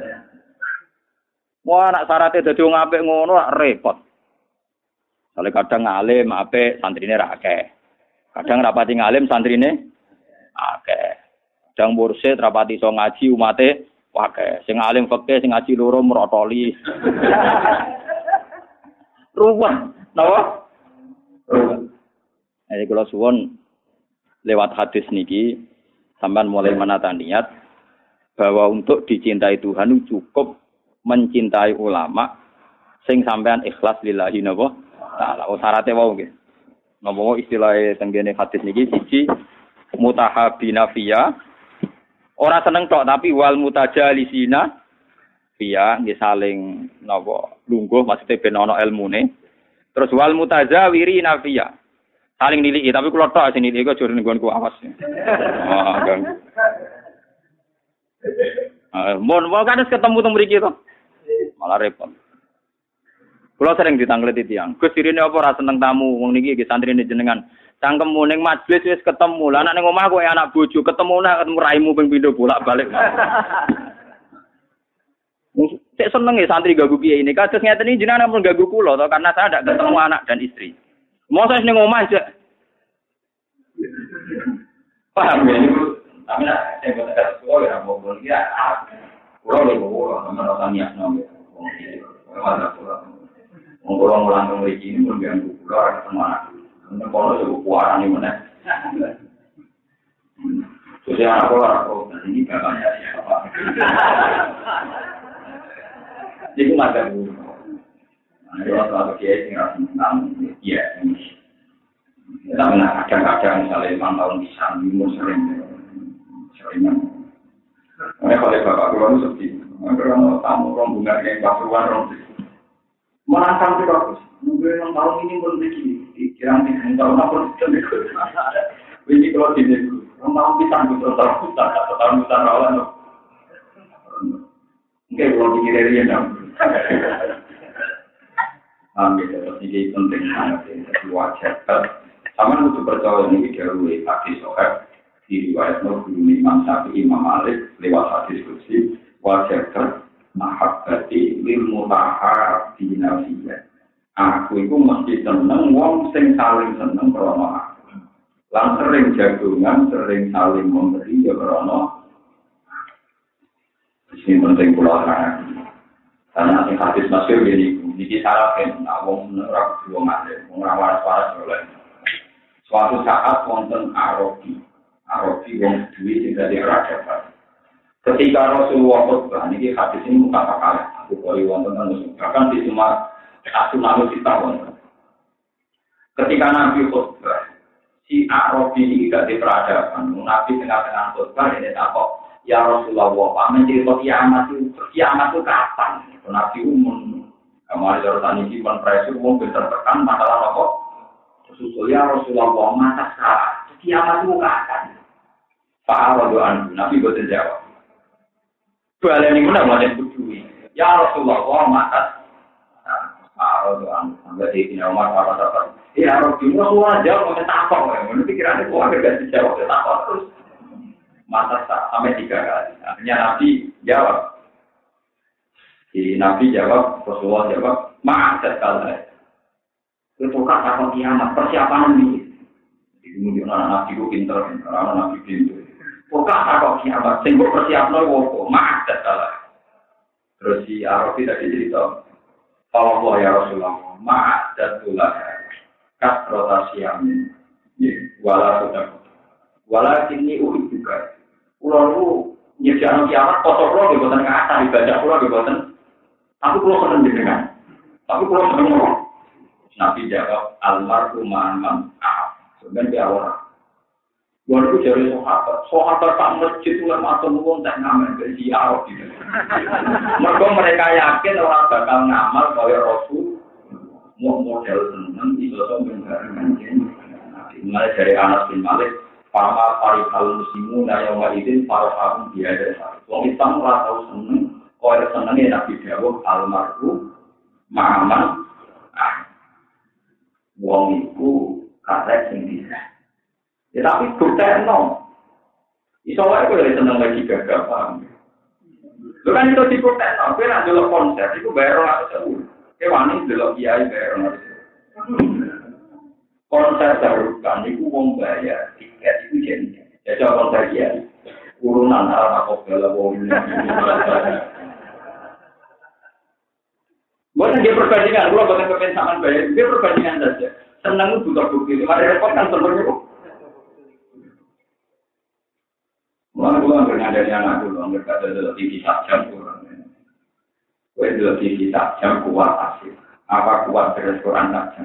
[SPEAKER 1] Wah, nak syaratnya dadi wong apik ngono rak repot. Sale kadang alim apik santrine ra akeh. Kadang rapati ngalim santrine akeh. Dang mursyid rapati iso ngaji umate wae. Sing alim fikih sing ngaji loro merotoli. Ruwet, napa? Ruwet. Jadi kalau suwon lewat hadis niki sampean mulai menata niat bahwa untuk dicintai Tuhan cukup mencintai ulama sing sampean ikhlas lillahi napa taala. Oh syaratnya wae nggih. Napa istilah tenggene hadis niki siji mutahabina fiya ora seneng tok tapi wal mutajalisina fiya nggih saling napa lungguh maksudnya ben ana ilmune. Terus wal mutazawirina fiya saling niliki tapi kula tok sing niliki aja nggonku awas. Oh gang. Ah mon wae kan ketemu teng mriki to. Malah repot. Kula sering ditanglet tiyang. Gus dirine apa ora seneng tamu wong niki iki santrine jenengan. Cangkemmu ning majelis wis ketemu. Lah anak ning omah kowe anak bojo ketemu nek ketemu raimu ping pindho bolak-balik. Sik seneng ya santri gagu piye ini. Kados ngeten iki jenengan ampun gagu kula to karena saya ndak ketemu anak dan istri. Mosok ning omah aja. Paham ya niku. Tapi nek sing boten kados kula ya mau ya. Kula lho kula nomor tanya nomor. Wala kula. Wong kula mulang mriki pun ganggu kula ora ketemu anak. Nek kula yo kuarani meneh. Terus ya aku ora kok ini bapaknya siapa. Iku mata bu. Ada orang kiai sing ra seneng iya. Tapi nak kadang-kadang misalnya lima tahun bisa minum sering sering. Oleh oleh bapak kula seperti karena tamu rombongan yang pasuruan rombongan menantang itu bagus. Mungkin yang tahun ini pun begini, kira-kira tahun apa pun ikut. Ini kalau di sini, yang tahun kita betul tahun kita atau tahun kita rawan. Mungkin kalau di kiri dia dong. Ambil seperti ini penting sangat wajar. Sama untuk percaya ini dahulu hadis sohab di riwayat Nur Imam Syafi'i Imam Malik lewat hadis kursi. Wajar mahabbati lil mutahabbina fiyya. Aku iku mesti seneng wong sing saling seneng krana aku. Lan sering jagungan, sering saling memberi ya krana. Sing penting kula terang. Karena sing hadis masyhur iki niki syaratken nek wong ora kudu ngalim, wong ora waras-waras oleh. Suatu saat wonten Arabi. Arabi wong duwe sing dadi raja. Ketika Rasulullah khutbah, ini hadis ini bukan apa-apa. Aku boleh wonten anu bahkan di semua asunan kita wonten. Ketika Nabi khutbah, si Arabi ini gak di peradaban. Nabi tengah-tengah khutbah ini takut, ya Rasulullah, Pak mencerita kiamat itu, kiamat itu kapan? Nabi umum, kemarin jarutan ini menpresur umum tertekan masalah apa? Susul ya Rasulullah, mata salah, kiamat itu kapan? Pak Arabi, Nabi boten jawab. Balen ini mana mana berdui. Ya Rasulullah, matas. Pak Rasulullah, sampai di sini Umar apa apa. Ya Rasulullah, semua jawab sampai takut. Menurut pikirannya semua agak dijawab sampai takut terus. Matas sampai tiga kali. Akhirnya Nabi jawab. Si Nabi jawab, Rasulullah jawab, matas kalau itu kan takut kiamat persiapan ini. Kemudian anak Nabi itu pintar, anak Nabi pintar. Pokoknya takut kiamat, sehingga persiapnya wopo, maaf salah. Terus si Arabi tadi cerita, Allah ya Rasulullah, maaf jatuhlah, kas rotasi amin, wala sudah, wala kini uhi juga. Pulau itu nyediakan kiamat, kotor pulau di bosan ke atas, dibaca pulau di bosan. Aku pulau seneng dengan, tapi pulau seneng. Nabi jawab, almarhum ma'aman, ah, sebenarnya dia orang. Walau jadi sahabat, sahabat tak masjid itu lama semua tak ngamal dari Arab gitu. Mereka mereka yakin orang bakal ngamal oleh Rasul, mau model seneng itu sebenarnya. Mulai dari Anas bin Malik, Fama Farihal Muslimu, Nayam Walidin, Faraham Biada. Wong Islam ora tau seneng, kaya senenge Nabi Dawuh almarhum Ma'aman. Ah, wong iku karek sing bisa. Ya tapi bukti no. Iso wae kowe seneng lagi gagah paham. Lho kan itu dibukti no, kowe nak delok konser iku bayar ora sewu. Kowe wani delok kiai bayar ora sewu. Konser terus kan iku wong bayar tiket iku jenenge. Ya konser kiai. turunan arah aku bela wong. Bukan dia perbandingan, kalau bukan kepensaman bayar, dia perbandingan saja. Senang butuh bukti, mari repot kan sebenarnya. Mulai pulang dengan dari anak dulu, mereka ada T V jam kurang. Kue ada T V jam kuat asik. Apa kuat di restoran saja?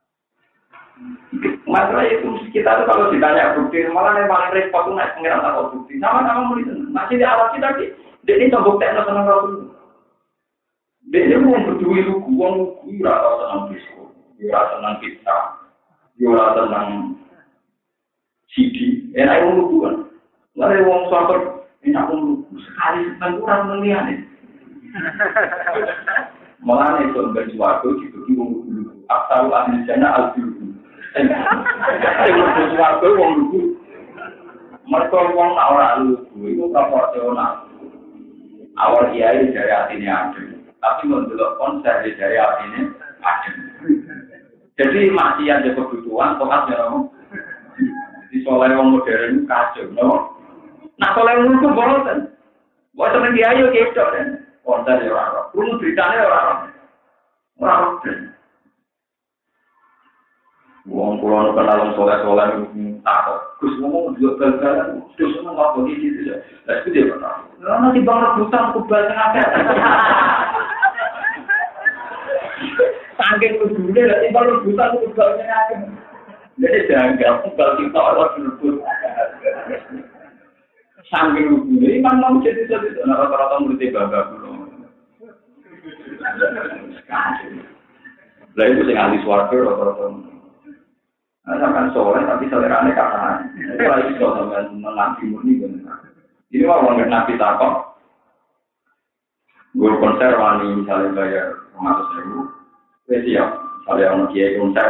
[SPEAKER 1] Masalah itu kita tuh kalau ditanya bukti, malah yang paling repot tuh naik pengiran atau bukti. Sama-sama mulai masih di alat kita di, dia ini tombok tekno senang kalau dulu. Dia mau berdua itu uang uang rata senang disco, rata senang pizza, rata senang C D. Enak uang uang. Lalu uang suatu enak uang sekali senang kurang melihat. Malah itu bersuatu dibagi uang uang. Asal ahli jana al-dulu. Itu bersuatu uang uang. Mereka uang tak orang lugu itu proporsional. Awal kiai dari hatinya ada. Tapi menurut konser dari hatinya ada. Jadi masih ada kebutuhan, tohatnya no. Jadi soalnya orang modern kacau, no. Nah soalnya orang itu bosan. Bosan dia ayo gitu kan. Konser ya orang. Belum beritanya orang. Orang. Wong pulau kenal soleh-soleh takut. Gus ngomong juga gagal. Gus ngomong apa gitu ya. Lah itu dia benar. Nanti bang rebutan kubal tengah. Sangking lugunya, nanti bang rebutan kubal tengah. Jadi jangan kubal kita orang berebut. Sangking lugunya, imam mau jadi jadi. Nah rata-rata murid bangga dulu. Lah itu sing ahli swarga rata-rata. Nah, kan soleh tapi selerane kata. Itu lagi soal dengan nabi murni benar. Ini mah orang nabi takok. Guru konser wani misalnya bayar ratus ribu, siap. Misalnya orang kiai konser,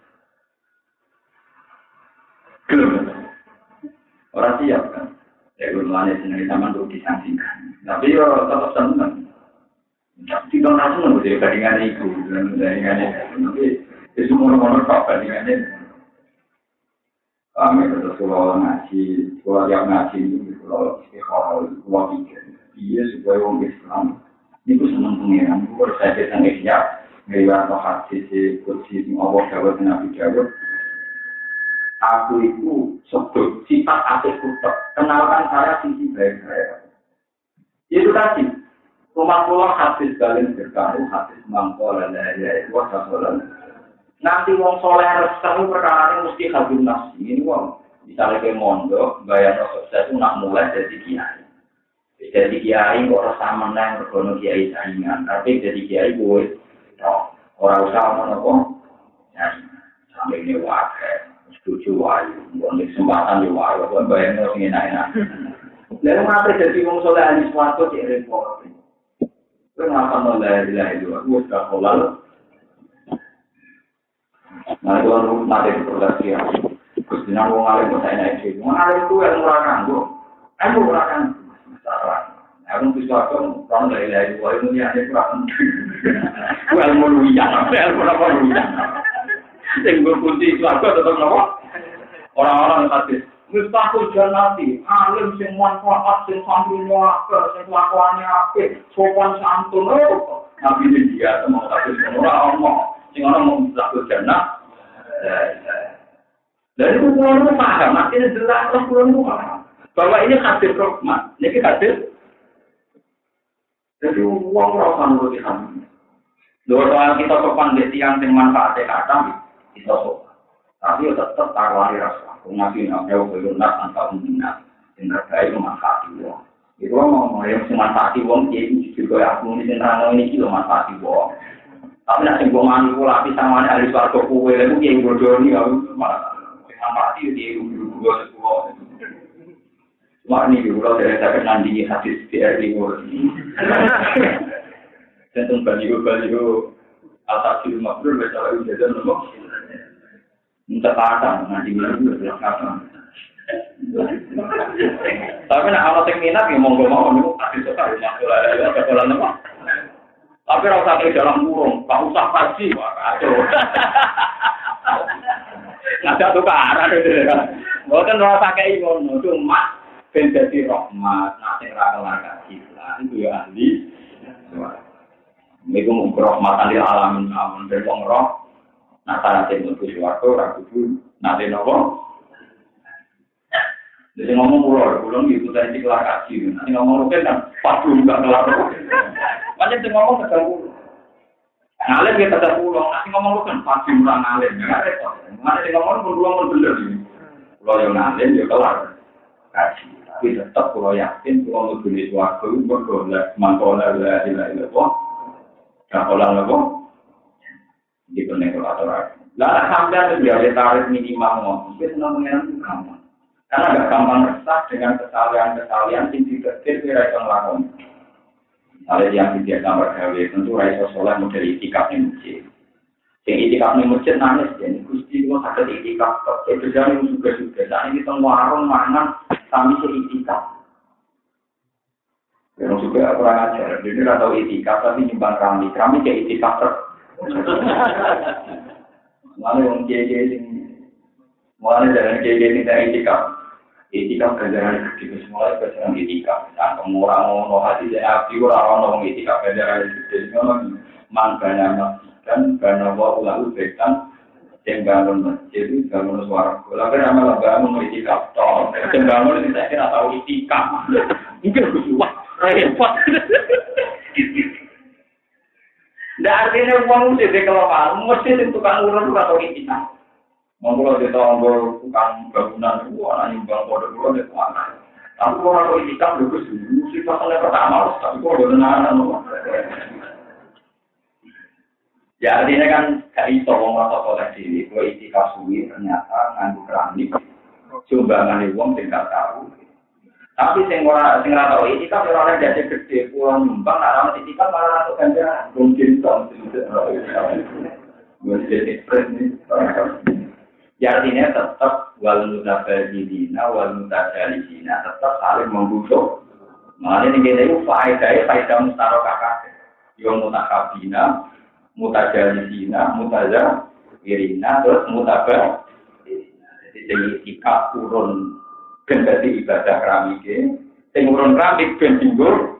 [SPEAKER 1] orang siap kan. Ya guru wani sendiri sama untuk disangsikan. Tapi ya tetap senang. Tidak langsung menjadi bandingan itu, bandingannya. Tapi itu semua-semua tak bandingannya. Kami terus kalau ngaji, kalau yang ngaji itu kalau istiqomah itu kalau pikir, dia supaya orang Islam itu senang pengiran. Kalau saya kita nggak ngelihat atau hadis si kursi Allah Dawud Nabi Dawud, aku itu sebut sifat atikku kenalkan saya sisi baik saya. Itu tadi rumah pulau hadis kalian berkaru hadis mangkol dan ya itu wasalam. Nanti wong soleh resmi perkara mesti habis nafsi. Ini wong misalnya ke mondok, bayar sukses itu nak mulai dari kiai. Jadi kiai kok rasa menang berkono kiai saingan, tapi jadi kiai gue, orang usaha mana sampai ini wakai, setuju wayu, bukan kesempatan di wayu, bukan bayar nafsi enak-enak. Lalu mati jadi wong soleh ahli suatu di report. Kenapa nolai ilahi dua? Gue sudah kolal. Nah itu kan mati di produksi ya. Terus di nanggung alim saya naik sih. Mengalim itu yang murah kanggo. Aku murah kanggo. Masalah. Aku bisa kan orang dari dari dua ini ada kurang. Well mau luyang, well mau apa luyang. Tengok kunci itu aku tetap apa? Orang-orang hadis. Mustahil jannati. Alim sing manfaat sing santrinya apa, sing kelakuannya apa, sopan santun. Nabi dia mau hadis orang ngomong. Sing orang mau mustahil jannah. Dari itu pulau itu paham, artinya jelas pulau itu paham bahwa ini hadir rahmat, ini hadir. Jadi uang rawan lebih kami. Dua soal kita sopan di tiang yang manfaatnya kata kita sopan, tapi tetap taruhani rasa. Ngasih nafsu belum nak antara minat, yang terbaik memanfaati uang. Itu ngomong yang memanfaati uang, jadi juga aku ini tentang ini kilo manfaati uang. Tapi nak sing manipulasi sama ahli swarga kuwe lha iki yang bodoh ni aku manfaati dia dulu semua. Mak ni dulu dari saya nandingi hadis P R D ngor. Tentang baliho-baliho atas ilmu mabrur bersama ujian nopo. Minta kata nandingi itu kata. Tapi nak awak sing minat ya monggo mawon niku hadis sekali masalah ya kebetulan nopo. Tapi rasa ke dalam kurung, tak usah kaji, wah kacau. Nggak ada tukaran itu kan. Bukan rasa kayak ngono, cuma ben dadi rahmat, nek ora kelar kaji lan itu ya ahli swarga. Niku mung rahmatan lil alamin amun ben wong roh nek ana sing mlebu swarga ora kudu nate napa. Jadi ngomong pulau, pulau itu dari kelar kaji. Nanti ngomong mungkin kan pas dulu nggak kelar. Macam tu ngomong kedua pulau. Ngalir kita kedua pulau. Nanti ngomong kan pas dulu nggak ngalir. Nggak repot. Mana dia ngomong pulau pulau bener. Pulau yang ngalir dia kelar kaji. Tapi tetap pulau yakin pulau mau beli suatu bergolak mangkola lah ilah ilah kok. Kapolan lah kok. Di konektor. Lah sampai dia tarik minimal. Mungkin senang mengenai kamu. Karena agak gampang resah dengan kesalahan-kesalahan yang dikecil di raison lakon. Misalnya yang tidak gambar gawe, tentu raison soleh model itikaf yang masjid. Yang itikaf yang masjid nangis, jadi gusti itu sakit itikaf. Jadi berjalan juga-juga. Saat ini kita warung mangan, kami se-itikaf. Yang juga kurang ajar. Jadi tidak tahu itikaf, tapi nyumbang kami. Kami kayak itikaf ter. Lalu yang kiai-kiai ini, mulai dari kiai-kiai ini dari itikaf. Itikaf ganjaran gede semua ganjaran itikaf. Tentang orang-orang hati saya api orang-orang itikaf ganjaran gede semua mangkanya masjid karena wa ulahu bekan yang bangun masjid itu bangun suara. Lalu nama bangun itikaf toh. Yang bangun itu saya kira tahu itikaf. Mungkin wah repot. Nggak artinya uang mesti dikelola, mesti tukang urut atau itikaf. Mengkulau di tahun tukang bangunan itu, orang nyumbang kode kulau di mana? Tapi kalau orang itikaf bagus dulu, sih pasalnya pertama, tapi kalau benar-benar ya artinya kan gak iso wong rasa soleh diri, kalau itikaf suwi ternyata nganggu keramik, sumbangan uang tidak tahu. Tapi sing ora sing ora tau itikaf ora ada jadi gede, pulang nyumbang, arah itikaf malah atau ganjaran, mungkin dong. Jadi ya artinya tetap wal mutabadilina wal mutajalisina tetap saling membutuh. Makanya ini kita itu faedah faedah mustarokah kabeh. Yang mutakabina, mutajalisina, mutajawirina terus mutabah. Jadi ikat turun ben dadi ibadah keramike, sing urun keramik ben tinggur.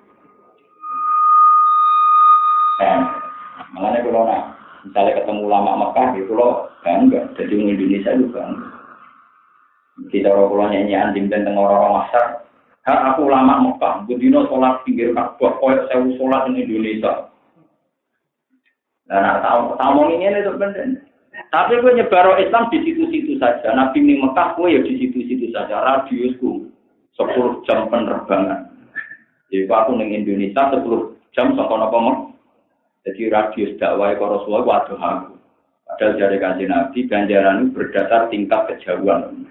[SPEAKER 1] Nah, makanya kalau nak misalnya ketemu ulama Mekah gitu loh, bangga. Jadi orang Indonesia itu bangga. Kita orang nyanyi anjing dan orang-orang masyarakat. Ha, aku ulama Mekah, budino sholat pinggir Ka'bah, koyok sewu sholat di Indonesia. Nah, tahu tahu ini itu benar. Tapi gue nyebar Islam di situ-situ saja. Nabi di Mekah gue ya di situ-situ saja. Radiusku sepuluh jam penerbangan. Jadi aku di Indonesia sepuluh jam sampai apa mau? Jadi radius dakwah ke Rasulullah waduh aku. Padahal dari kanjeng Nabi ganjaran itu berdasar tingkat kejauhan.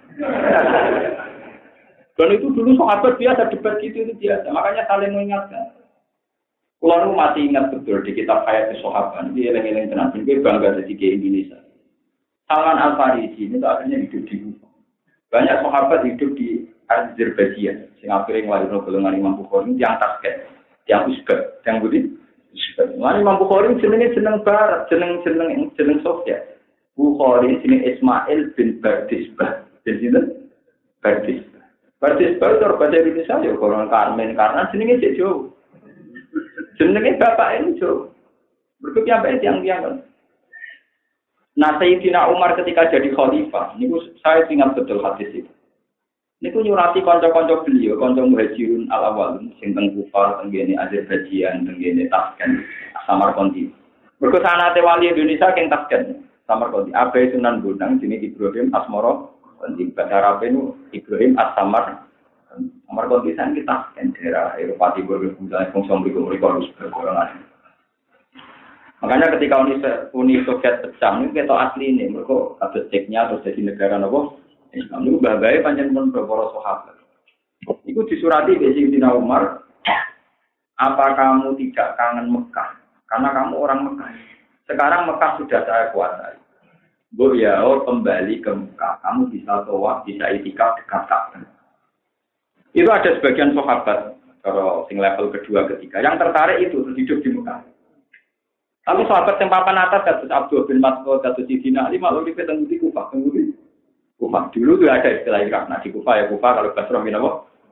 [SPEAKER 1] Dan itu dulu sahabat biasa debat gitu itu biasa. Makanya saling mengingatkan. Kalau masih ingat betul di kitab Hayat Sahabat, dia eleng-eleng tenan ben bangga jadi ke Indonesia. Salman Al-Farisi ini akhirnya hidup di Kufa. Banyak sahabat hidup di Azerbaijan. Sing akhirnya ngelahirno golongan Imam Bukhari yang Tasket, yang Uzbek, yang Budi. Lan Imam Bukhari jenenge jeneng barat, jeneng-jeneng jeneng Sofiat. Bukhari jeneng Ismail bin Bardisbah. Jadi Bardisbah. Bardisbah itu bahasa Indonesia ya orang Karmen karena jenenge cek jauh. Jenenge bapak ini jauh. Berikutnya apa yang-yang kan. Nah, Sayyidina Umar ketika jadi khalifah, niku saya ingat betul hadis itu. Niku nyurati kanca-kanca beliau, kanca muhajirun al-awwalun sing teng Kufar, teng kene Azerbaijan, teng kene Tashkent, Samarkand. Mergo sanate wali Indonesia keng Tashkent, Samarkand. Abai Sunan Bonang jenenge Ibrahim Asmara, penting bahasa Arab itu Ibrahim As-Samar. Samarkand di sana kita Tashkent daerah Eropa Timur, misalnya fungsi mereka harus bergolongan. Makanya ketika Uni, Uni Soviet pecah, ini kita asli ini, mereka ada ceknya terus jadi negara apa? Islam itu bagai panjang pun beberapa sahabat. Itu disurati oleh Sayyidina Umar. Apa kamu tidak kangen Mekah? Karena kamu orang Mekah. Sekarang Mekah sudah saya kuasai. Bu ya, oh, kembali ke Mekah. Kamu bisa tawaf, bisa itikaf dekat Ka'bah. Itu ada sebagian sahabat kalau sing level kedua ketiga yang tertarik itu hidup di Mekah. Tapi sahabat yang papan atas kasus Abdul bin Mas'ud, kasus Sidina Ali malu di petang di Kufah, tunggu di Kufah dulu tuh ada istilah Irak. Nah di Kufah ya Kufah kalau Basrah bin apa?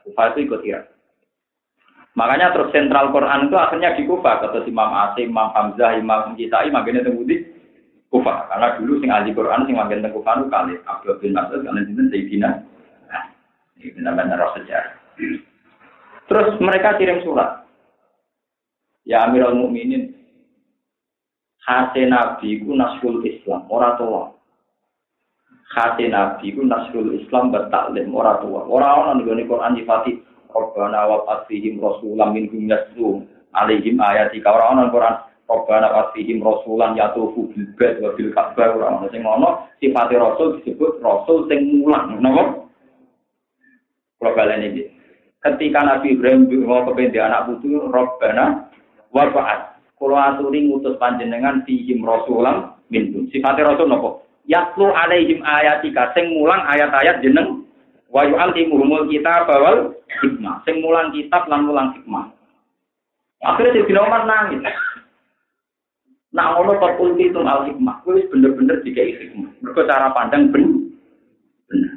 [SPEAKER 1] Kufah itu ikut Irak. Makanya terus sentral Quran itu akhirnya di Kufah. Kata Imam Asim, Imam Hamzah, Imam Kisai, makanya tembudi Kufah. Karena dulu sing ahli Quran sing magen teng Kufah itu kali Abdul bin Mas'ud karena dinten Sayyidina. Nah, ini benar-benar sejarah. Terus mereka kirim surat. Ya Amirul Mukminin, khase Nabi ku nasrul Islam, ora tua. Khase Nabi ku nasrul Islam bertaklim, ora tua. Ora ana ning Quran nyifati Rabbana wa fasihim rasulam minhum yaslu alaihim ayatika. Ora ana Quran Rabbana wa fasihim rasulan yatufu bil bait wa bil ka'bah. Ora ana sing ngono, sifate rasul disebut rasul sing mulang. Napa? Kalau kalian ini, ketika Nabi Ibrahim mau kependik anak putu, Rabbana wa fa'at. Kalau aturi ngutus panjenengan fihim rasulam minhum. Sifate rasul napa? Yatlu alaihim ayatika, sing mulang ayat-ayat jeneng wa yu'allimuhumul kitab wal hikmah. Sing mulang kitab lan mulang hikmah. Akhirnya Sayyidina Umar nangis. Nak ngono kok ulti itu al hikmah. Kuwi wis bener-bener dikai hikmah. Mergo cara pandang ben bener.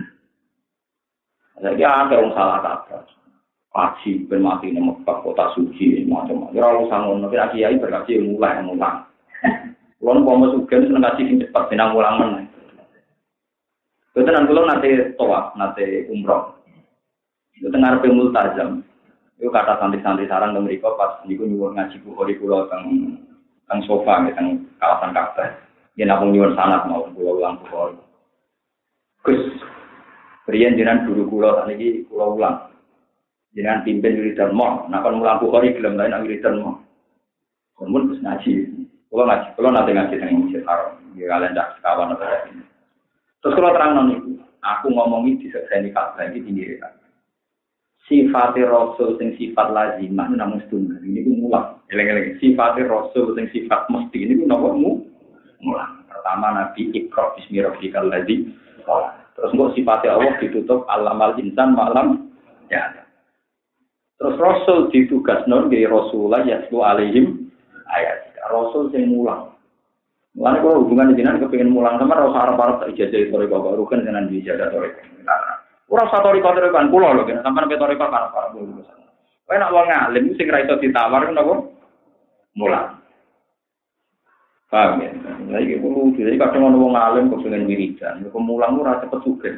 [SPEAKER 1] Lagi ada wong salah kaprah. Kaji ben mati nang Mekah kota suci macam-macam. Ya ora usah ngono, kira kiai berkaji mulai mulang. Kulo pomo sugih seneng kaji sing cepet benang mulang meneh. Kebetulan kulo nate tawaf, nate umroh. Itu tengah arepe multazam. Itu kata santri-santri sarang teng mriku pas niku nyuwun ngaji Bukhari kulo teng teng sofa teng kawasan Ka'bah. Yen aku nyuwun sanad mau kulo ulang Bukhari. Gus, riyen jenengan guru kulo sakniki kulo ulang. Jenengan pimpin wiridan mo, nek kon mulang Bukhari gelem lain nang wiridan mo. Mun wis ngaji. Kulo ngaji, kulo nate ngaji teng Masjid Haram. Ya kalian dak sekawan apa ini. Terus kalau terang niku, aku ngomongi di sekseni Ka'bah iki tinggi kan. Sifat Rasul sing sifat lazimah namung setunggal. Ini ku mulang. Eleng-eleng sifat Rasul sing sifat mesti ini ku napa mu mulang. Pertama Nabi Iqra bismi rabbikal ladzi khalaq. Terus kok sifat Allah ditutup alamal insan malam ya. Terus Rasul ditugasno nggih Rasulullah yaslu alaihim ayat. Rasul sing mulang. Mulane kalau hubungan jenengan kepengin mulang sama ora usah arep-arep tak ijazah toriko baru kan jenengan ijazah toriko. Ora usah toriko toriko kan kula lho kan sampean pe toriko kan para guru. Kowe nek wong alim sing ra iso ditawar napa? Mulang. Paham ya? Lah iki kudu dhewe kadang ana wong alim kok pengen wiridan, kok mulang ora cepet sugih.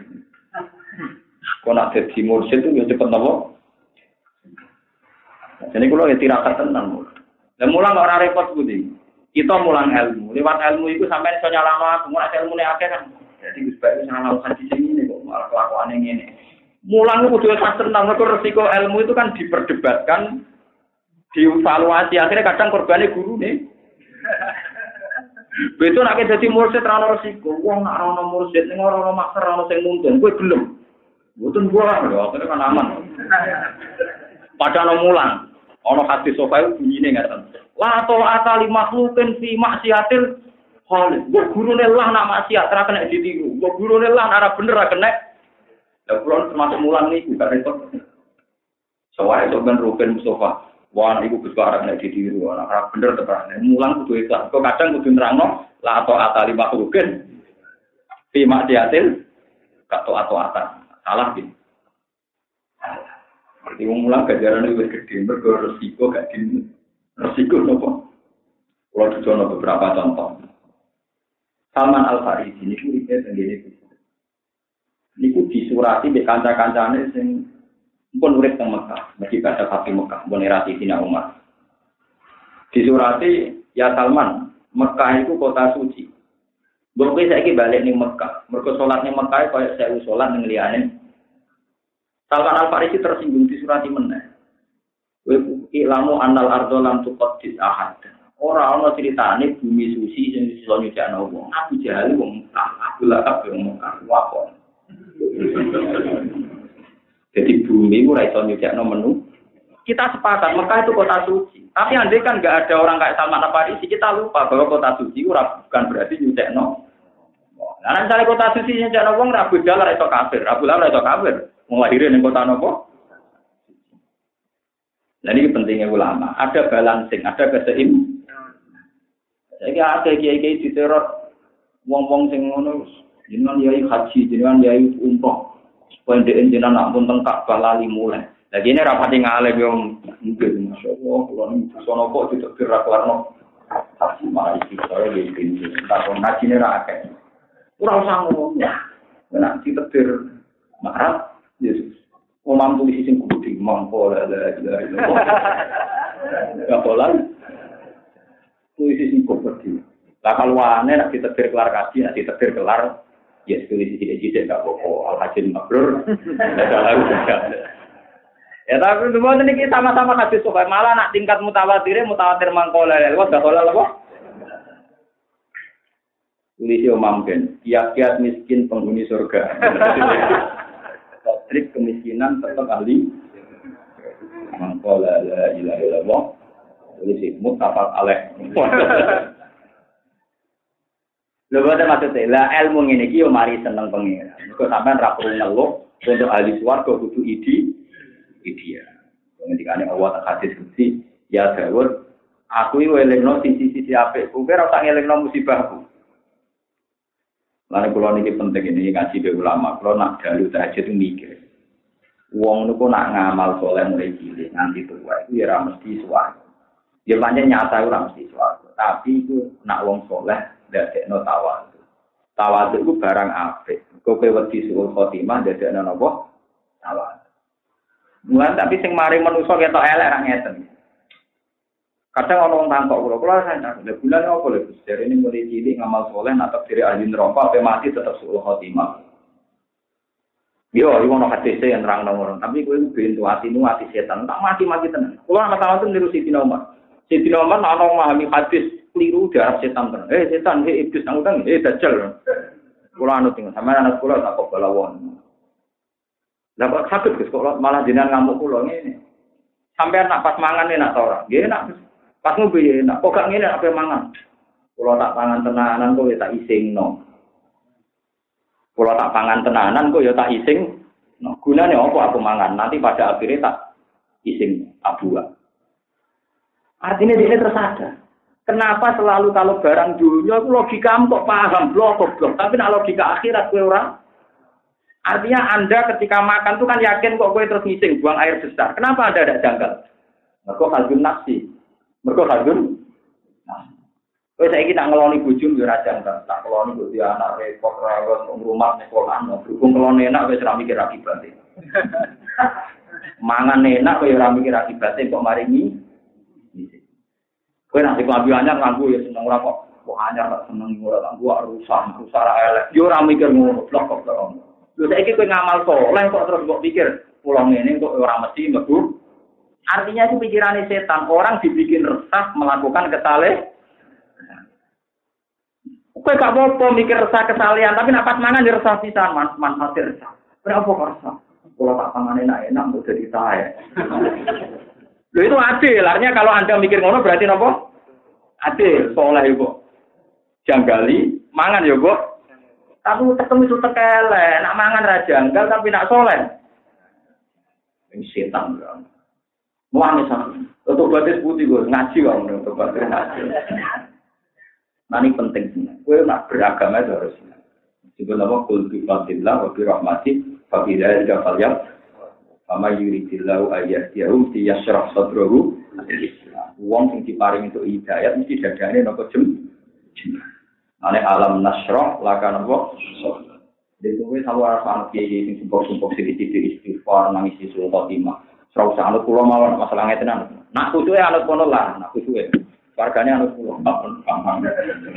[SPEAKER 1] Kok nek dadi mursyid itu ya cepet napa? Jadi kula ya tirakat tenan. Lah mulang ora repot kuwi. Kita mulang ilmu, lewat ilmu itu sampai iso nyalano aku, ora ilmune akeh kan. Jadi Gus Bayu nyalano hadis ini kok malah kelakuane ngene. Mulang itu kudu ikhlas tenan, mergo resiko ilmu itu kan diperdebatkan, dievaluasi, akhirnya kadang korbannya guru nih. Betul nek dadi mursyid ra ono resiko, wong nek ora ono mursyid ning ora ono makser ora ono sing nuntun, kowe gelem. Mboten buah lho, akhirnya kan aman. Padahal mulang, ono hadis sofa itu bunyine ngaten. La ta'ata li makhluqin fi maksiatil khaliq. Wa gurune lah nak maksiat ra kena ditiru. Wa gurune lah ora bener ra kena. Lah kula termasuk mulang niku gak repot. Soale to ben rupen Mustafa. Wah iku Gus ora kena ditiru. Ora bener tenan. Mulang kudu ikhlas. Kok kadang kudu nerangno la ta'ata li makhluqin fi maksiatil ka ta'ata. Salah iki. Berarti wong mulang gajarane wis gedhe mergo resiko gak di resiko nopo. Kalau dicoba beberapa contoh. Salman Al Farisi ini kuripe tenggene itu. Niku disurati mbek kanca-kancane sing pun urip teng Mekah, mesti baca Fatih Mekah, pun era Sayyidina Umar. Disurati, ya Salman, Mekah itu kota suci. Mbok kowe saiki balik ning Mekah, mergo salat ning Mekah koyo sewu salat ning liyane. Salman Al Farisi tersinggung disurati meneh. Ilamu annal ardo lam tuqaddis ahad. Ora ana critane bumi suci sing iso nyucikno wong. Abu Jahal wong Abu Lahab wong wakon. Jadi bumi ora iso nyucikno menu. Kita sepakat Mekah itu kota suci. Tapi andai kan enggak ada orang kayak Salman Al-Farisi, kita lupa bahwa kota suci ora bukan berarti nyucikno. Nah, misalnya kota suci nyucikno wong Abu Jahal ora iso kafir, Abu Lahab ora iso kafir. Wong lahir ning kota napa? Nah ini pentingnya ulama, ada balancing, ada keseim. Jadi ada kiai-kiai di teror, wong-wong sing ngono, jenengan yai haji, jenengan yai umroh, supaya dia jenengan nak pun tengkak balali mulai. Lagi ini rapati ngalih yo mungkin masyaallah kula niku sono kok ditekir ra kelarno. Tapi malah iki saya di pintu. Tak ono ngajine ra akeh. Ora usah ngono. Nek ditekir marah Yesus. Omam tulis sing kudu mangko la la la. Ya bolan. Tulis sing kudu. Lah kalau ane nek ditekir kelar kaji, nek ditekir kelar ya tulis sing iki tidak apa-apa. Al-Hajin mabrur. Ya tapi semua ini kita sama-sama hadis sokai malah nak tingkat mutawatir mutawatir mangkola lewat dah kola apa? Tulis Imam Ben, kiat-kiat miskin penghuni surga. Trik kemiskinan tetap ahli. Mangkola la ilaha illallah. Tulis mutafaq alaih. Lha boten maksudnya la ilmu ngene iki yo mari seneng pengen. Kok sampean ra perlu ngeluh untuk ahli swarga kudu idi dia. Ngendikane Allah tak hadis kunci, ya Daud, aku iki welingno sisi-sisi apik, kowe ora tak ngelingno musibahku. Lan kula niki penting ini ngaji be ulama, kula nak dalu tahajud mikir. Wong niku nak ngamal saleh mulai cilik nganti tuwa iku ya ora mesti suwarga. Ya pancen nyata ora mesti suwarga, tapi iku nak wong saleh ndadekno tawadhu. Tawadhu iku barang apik. Kowe wedi suul khotimah ndadekno napa? Tawadhu. Mulai tapi sing mari manusa ketok elek ra ngeten. Kadang ana wong tangkok kula, kula sadar, lha bulan apa lho Gus? Jarene mulai cilik ngamal saleh nak diri ahli neraka ape mati tetep suul khotimah. Yo, iki ono hadis yang nerangno ngono, tapi kowe bintu atimu ati setan, tak mati-mati tenan. Kula masalah itu niru Sidina Umar. Sidina Umar ana memahami hadis keliru darah setan tenan. Eh setan, eh iblis nang utang, eh dajjal. Kula anu ting, sampeyan anak kula tak kok balawon. Lah kok sakit Gus kok malah jenengan ngamuk kula ngene. Sampeyan nak pas mangan enak ta ora? Nggih enak. Pas ngombe enak. Kok gak ngene ape mangan? Kula tak pangan tenanan kok ya tak isingno. Kula tak pangan tenanan kok ya tak ising. No, gunane apa aku mangan? Nanti pada akhirnya tak ising abuah. Artinya dia tersadar. Kenapa selalu kalau barang dunia itu logika kok paham blok blok, tapi nak logika akhirat kowe ora. Artinya Anda ketika makan itu kan yakin kok kowe terus ngising buang air besar. Kenapa Anda tidak janggal? Mergo hadun nafsi. Mergo hadun nafsi. Kowe saiki tak ngeloni bojomu yo ora janggal. Tak ngeloni bojo anak repot rawon rumah sekolah, berhubung ngeloni enak wis ora mikir akibate. Mangan enak kowe ora mikir akibate kok mari ngising. Kowe nek klambi anyar nganggo ya seneng ora kok. Kok anyar tak seneng ora nganggo rusak, rusak elek. Yo ora mikir ngono, blok kok kok. Lho saiki kowe ngamal saleh kok terus kok pikir pulang ngene kok ora mesti mlebu. Artinya itu pikirane setan, orang dibikin resah melakukan kesalahan. Kowe gak apa-apa mikir resah kesalahan, tapi nek pas mangan ya resah pisan, manfaat resah. Berapa kok resah? Kalau tak pangan enak-enak mau jadi saya. Lho itu adil, artinya kalau Anda mikir ngono berarti napa? Adil, saleh iku. Janggali, mangan ya, Bu. Tapi ketemu itu tekele, nak mangan ra janggal tapi nak soleh. Ini setan kan. Muane sama. Untuk batis putih gue ngaji kok untuk batis ngaji. Nah ini penting sih. Gue nak beragama itu harus. Juga nama kul bi fadillah wa bi rahmati fa bi dzalika falyam. Fama yuridillahu ayyahdiyahu yashrah sadrahu al-Islam. Wong sing diparing itu hidayat mesti dadane napa jem. Ane alam nasroh lakan apa? Jadi kowe sawar sangat kiai sing sumpuk-sumpuk sithik-sithik istighfar nangis isul khotimah. Ora usah anut kula mawon masalah ngeten ana. Nak kuduke anut kono lah, nak kuduke. Wargane anut kula paham.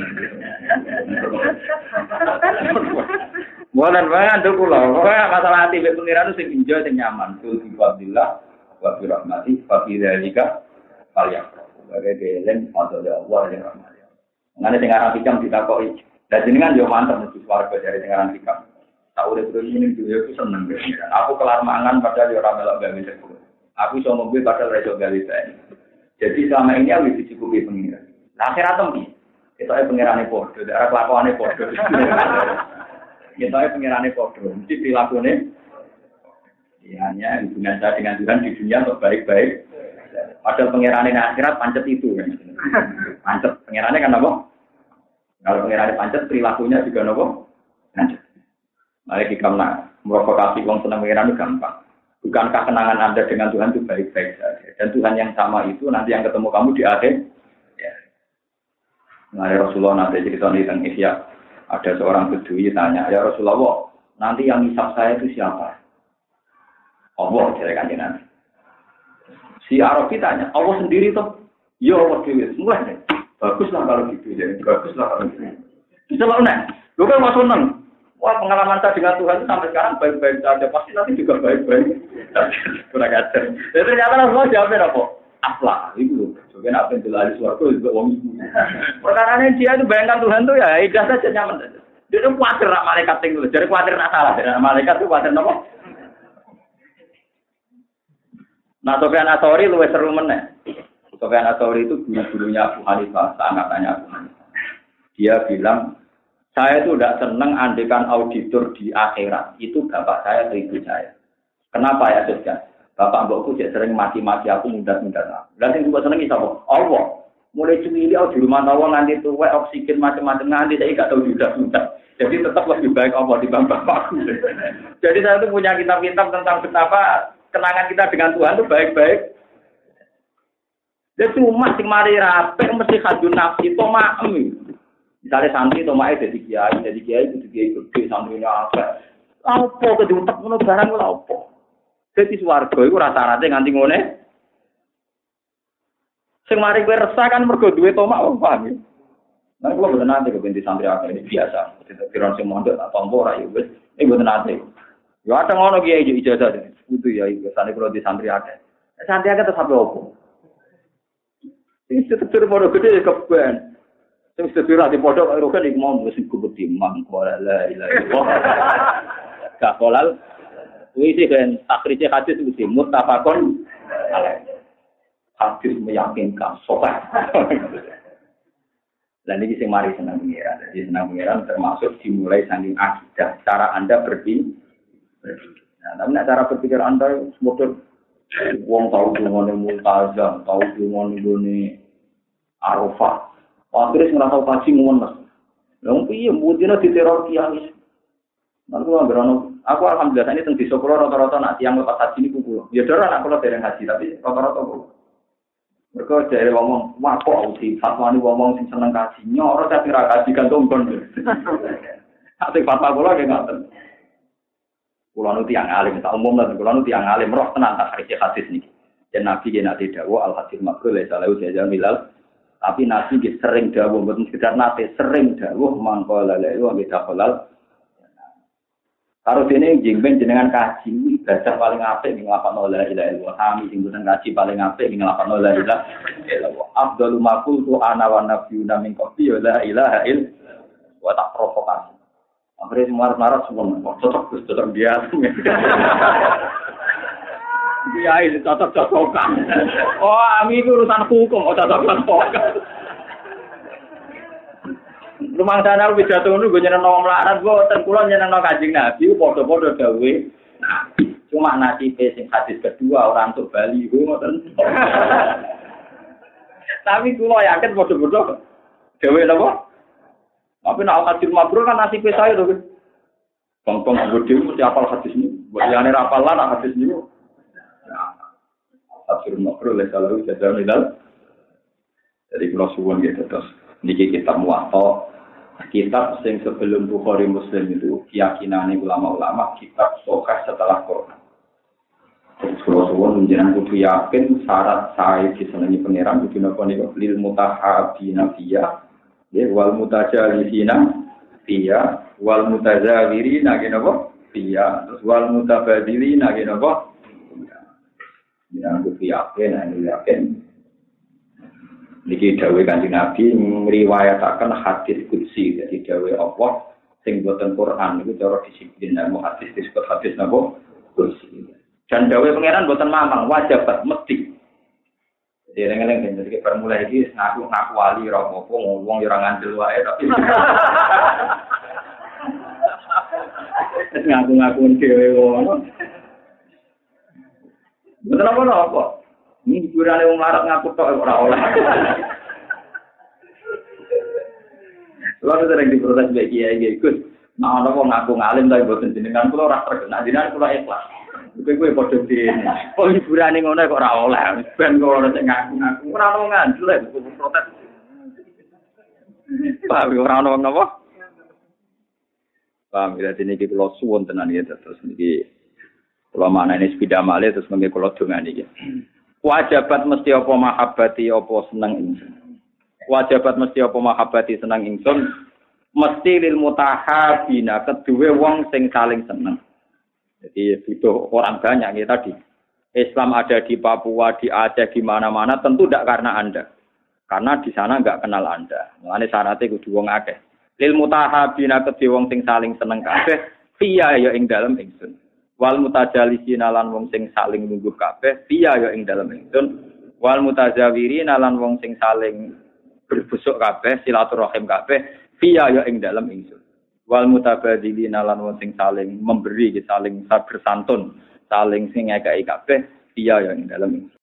[SPEAKER 1] Molan wae anut kula. Pokoke masalah ati mek pengiran sing enjoy sing nyaman. Kul bi fadillah wa bi rahmati fa bi dzalika falyaqra. Bagi gelem atau Allah yang rahmat. Ngene sing aran hikam ditakoki. Lah jenengan yo mantep mesti swarga dari sing aran hikam. Tak urip terus ini duwe ku seneng. Aku kelar mangan padahal yo ora melok gawe sepuluh. Aku iso ngombe padahal ora iso gawe teh. Jadi selama ini aku dicukupi pengiran. Lah akhirat tempi. Ketoke pengirane padha, ora kelakuane padha. Ketoke pengirane padha, mesti prilakune ya hanya hubungan saya dengan Tuhan di dunia untuk baik-baik. Padahal pengirane akhirat pancet itu kan. Pancet pengirane kan apa? Kalau pengirane pancet perilakunya juga apa? Pancet. Mari kita nak merokokasi wong seneng pengirane gampang. Bukankah kenangan Anda dengan Tuhan itu baik-baik saja? Dan Tuhan yang sama itu nanti yang ketemu kamu di akhir. Ya. Nah, Rasulullah nanti cerita tentang Ihya. Ada seorang bedui tanya, ya Rasulullah, nanti yang hisab saya itu siapa? Allah, jadi kanjeng Nabi. Si Arabi tanya, Allah sendiri toh? Ya Allah dewi, mulai deh. Baguslah kalau gitu, jadi baguslah kalau gitu. Bisa lah, nih. Lu kan masuk seneng. Wah, pengalaman saya dengan Tuhan itu sampai sekarang baik-baik saja. Pasti nanti juga baik-baik. Kurang ajar. Dan ternyata Rasulullah jawabnya apa? Aflah, itu. Soalnya apa yang jelas suaraku juga wong ibu. Perkaranya dia itu bayangkan Tuhan tuh ya, ikhlas saja nyaman saja. Dia itu khawatir nak malaikat tinggal. Jadi khawatir nak salah. Dan malaikat itu khawatir apa? Nah, Sofyan Atsori luwes seru meneh. Sofyan Atsori itu guru-gurunya Abu Hanifah, seangkatannya Abu Hanifah. Dia bilang, saya itu tidak senang andekan auditor di akhirat. Itu bapak saya atau ibu saya. Kenapa ya, Sofyan? Bapak mbokku cek sering mati-mati aku mundat-mundat aku. Dan yang juga seneng sapa? Allah. Mulai cemili di rumah tawa nganti tuwek oksigen macam-macam nganti saya enggak tahu mundat-mundat. Jadi tetap lebih baik Allah dibanding bapakku. Jadi saya itu punya kitab-kitab tentang betapa kenangan kita dengan Tuhan itu baik-baik. Dia cuma sing mari rapi mesti kadun nafsi tomaem. Misalnya santri tomae dadi kiai, dadi kiai kudu kiai gede santrine akeh. Apa kedutek ngono barang lha apa? Dadi swarga iku rata-rata nganti ngene. Sing mari kowe resah kan mergo duwe tomak wong paham ya. Nah, kalau betul nanti kebenci santri apa ini biasa. Tidak kira si mondok atau tombo rai wes. Ini betul nanti. Ya ada ngono kiai ijazah deh. Itu ya biasanya kalau di santri ada. Santri ada tetap apa? Ini setelah bodoh gede keben. Sing setelah di bodoh kalau kan iku mau mesti kubeti mangko la ilaha illallah. Gak kolal. Kuwi sih kan akhirnya hadis mesti muttafaqun alaih. Hadis meyakinkan sopan. Dan ini sing mari senang pengiran. Jadi senang pengiran termasuk dimulai saking akidah. Cara Anda berpikir. Nah, tapi cara berpikir Anda semoga wong tahu dengan multazam, tahu dengan ini arafah. Akhirnya nggak tahu kaji munas. Lalu iya, mungkin di teror kiai. Lalu aku berono. Aku alhamdulillah ini tentang di sekolah rata-rata nak yang lepas haji ini kumpul. Ya darah nak kalau dereng haji tapi rata-rata kumpul. Mereka dari ngomong, wah kok sih fatwa ini ngomong sing seneng kaji, nyoro saya kira kaji gantung kon. Tapi fatwa kula nggih ngoten. Kula nu tiyang alim, tak umum lan kula nu tiyang alim roh tenan tak hadis hadis niki. Dan Nabi ge nate dawuh al hadis makrul la salahu jaza milal. Tapi Nabi ge sering dawuh mboten sekedar nate sering dawuh mangko la la iku nggih halal. Karo dene jengben jenengan kaji ibadah paling apik ning nglakoni la ilaha illallah. Kami sing boten kaji paling apik ning nglakoni la ilaha illallah. Afdhalu ma qultu ana wa nabiyuna min qabli la ilaha illallah. Wa tak provokasi. Akhirnya semua-semua semua cocok cocok dia. Dia itu cocok-cocokan. Oh, ami itu urusan hukum, oh cocok-cocokan. Rumah sana lu bisa tunggu gue nyeneng nong melarat gue tengkulan nyeneng nong Kanjeng Nabi podo-podo dawe. Nah, cuma nasi sing hadis kedua orang tuh Bali gue ngoten. Tapi gue yakin podo-podo dawe apa? Tapi nak hadis mabrur kan nasi saya tuh. Bang-bang gede mesti hafal hadis ini. Buat yang ini hafal lah hadis ini. Hadis mabrur le kalau jajan milal. Jadi kalau suwon gitu terus. Niki kitab Muwatta, kitab sing sebelum Bukhari Muslim itu keyakinan ulama-ulama kitab sahih setelah Quran. Terus kalau suwon menjenengan kudu yakin syarat saya disenangi pangeran kudu napa niku lil mutahabina fiya, ya wal mutajalisina fiya, wal mutazawirina napa fiya, terus wal mutabadilina napa. Ya kudu yakin, nek yakin niki dawuh Kanjeng Nabi ngriwayataken hadis qudsi dadi dawuh Allah sing boten Quran niku cara disiplin ilmu hadis disebut hadis napa qudsi. Dan dawuh pangeran boten mamang wajibat mesti. Jadi eleng-eleng jadi permula iki ngaku-ngaku wali ora apa-apa wong ya ora ngandel wae tapi. Ngaku-ngaku dhewe ngono. Boten apa-apa. Ini hiburan yang melarat ngaku tok ora oleh. Lalu sering diprotes baik kiai Gus. Nah, ana wong ngaku ngalim tapi boten jenengan kula ora terkenal jenengan kula ikhlas. Kowe kowe padha dene. Kok hiburane ngono kok ora oleh. Ben kok ora sing ngaku-ngaku. Ora ono ngandel protes. Pak ora ono napa? Paham ya dene iki kula suwun tenan ya terus niki kula manane sepeda malih terus mengke kula dongani iki. Wajibat mesti apa mahabbati apa seneng ingsun. Wajibat mesti apa mahabbati seneng ingsun mesti lil mutahabina kedue wong sing saling seneng. Jadi butuh orang banyak ya tadi. Islam ada di Papua, di Aceh, di mana-mana tentu tidak karena Anda. Karena di sana enggak kenal Anda. Mulane syaratnya kudu wong akeh. Lil mutahabina kedue wong sing saling seneng kabeh fiya ya ing dalem ingsun. Wal mutajalisina lan wong sing saling nunggu kabeh fiya ya ing dalem ingsun. Wal mutazawirina lan wong sing saling berbusuk kabeh silaturahim kabeh fiya ya ing dalem ingsun. Wal mutabadzilina lan wong sing saling memberi, saling bersantun, saling sing ngekeki kabeh fiya ya ing dalem ingsun.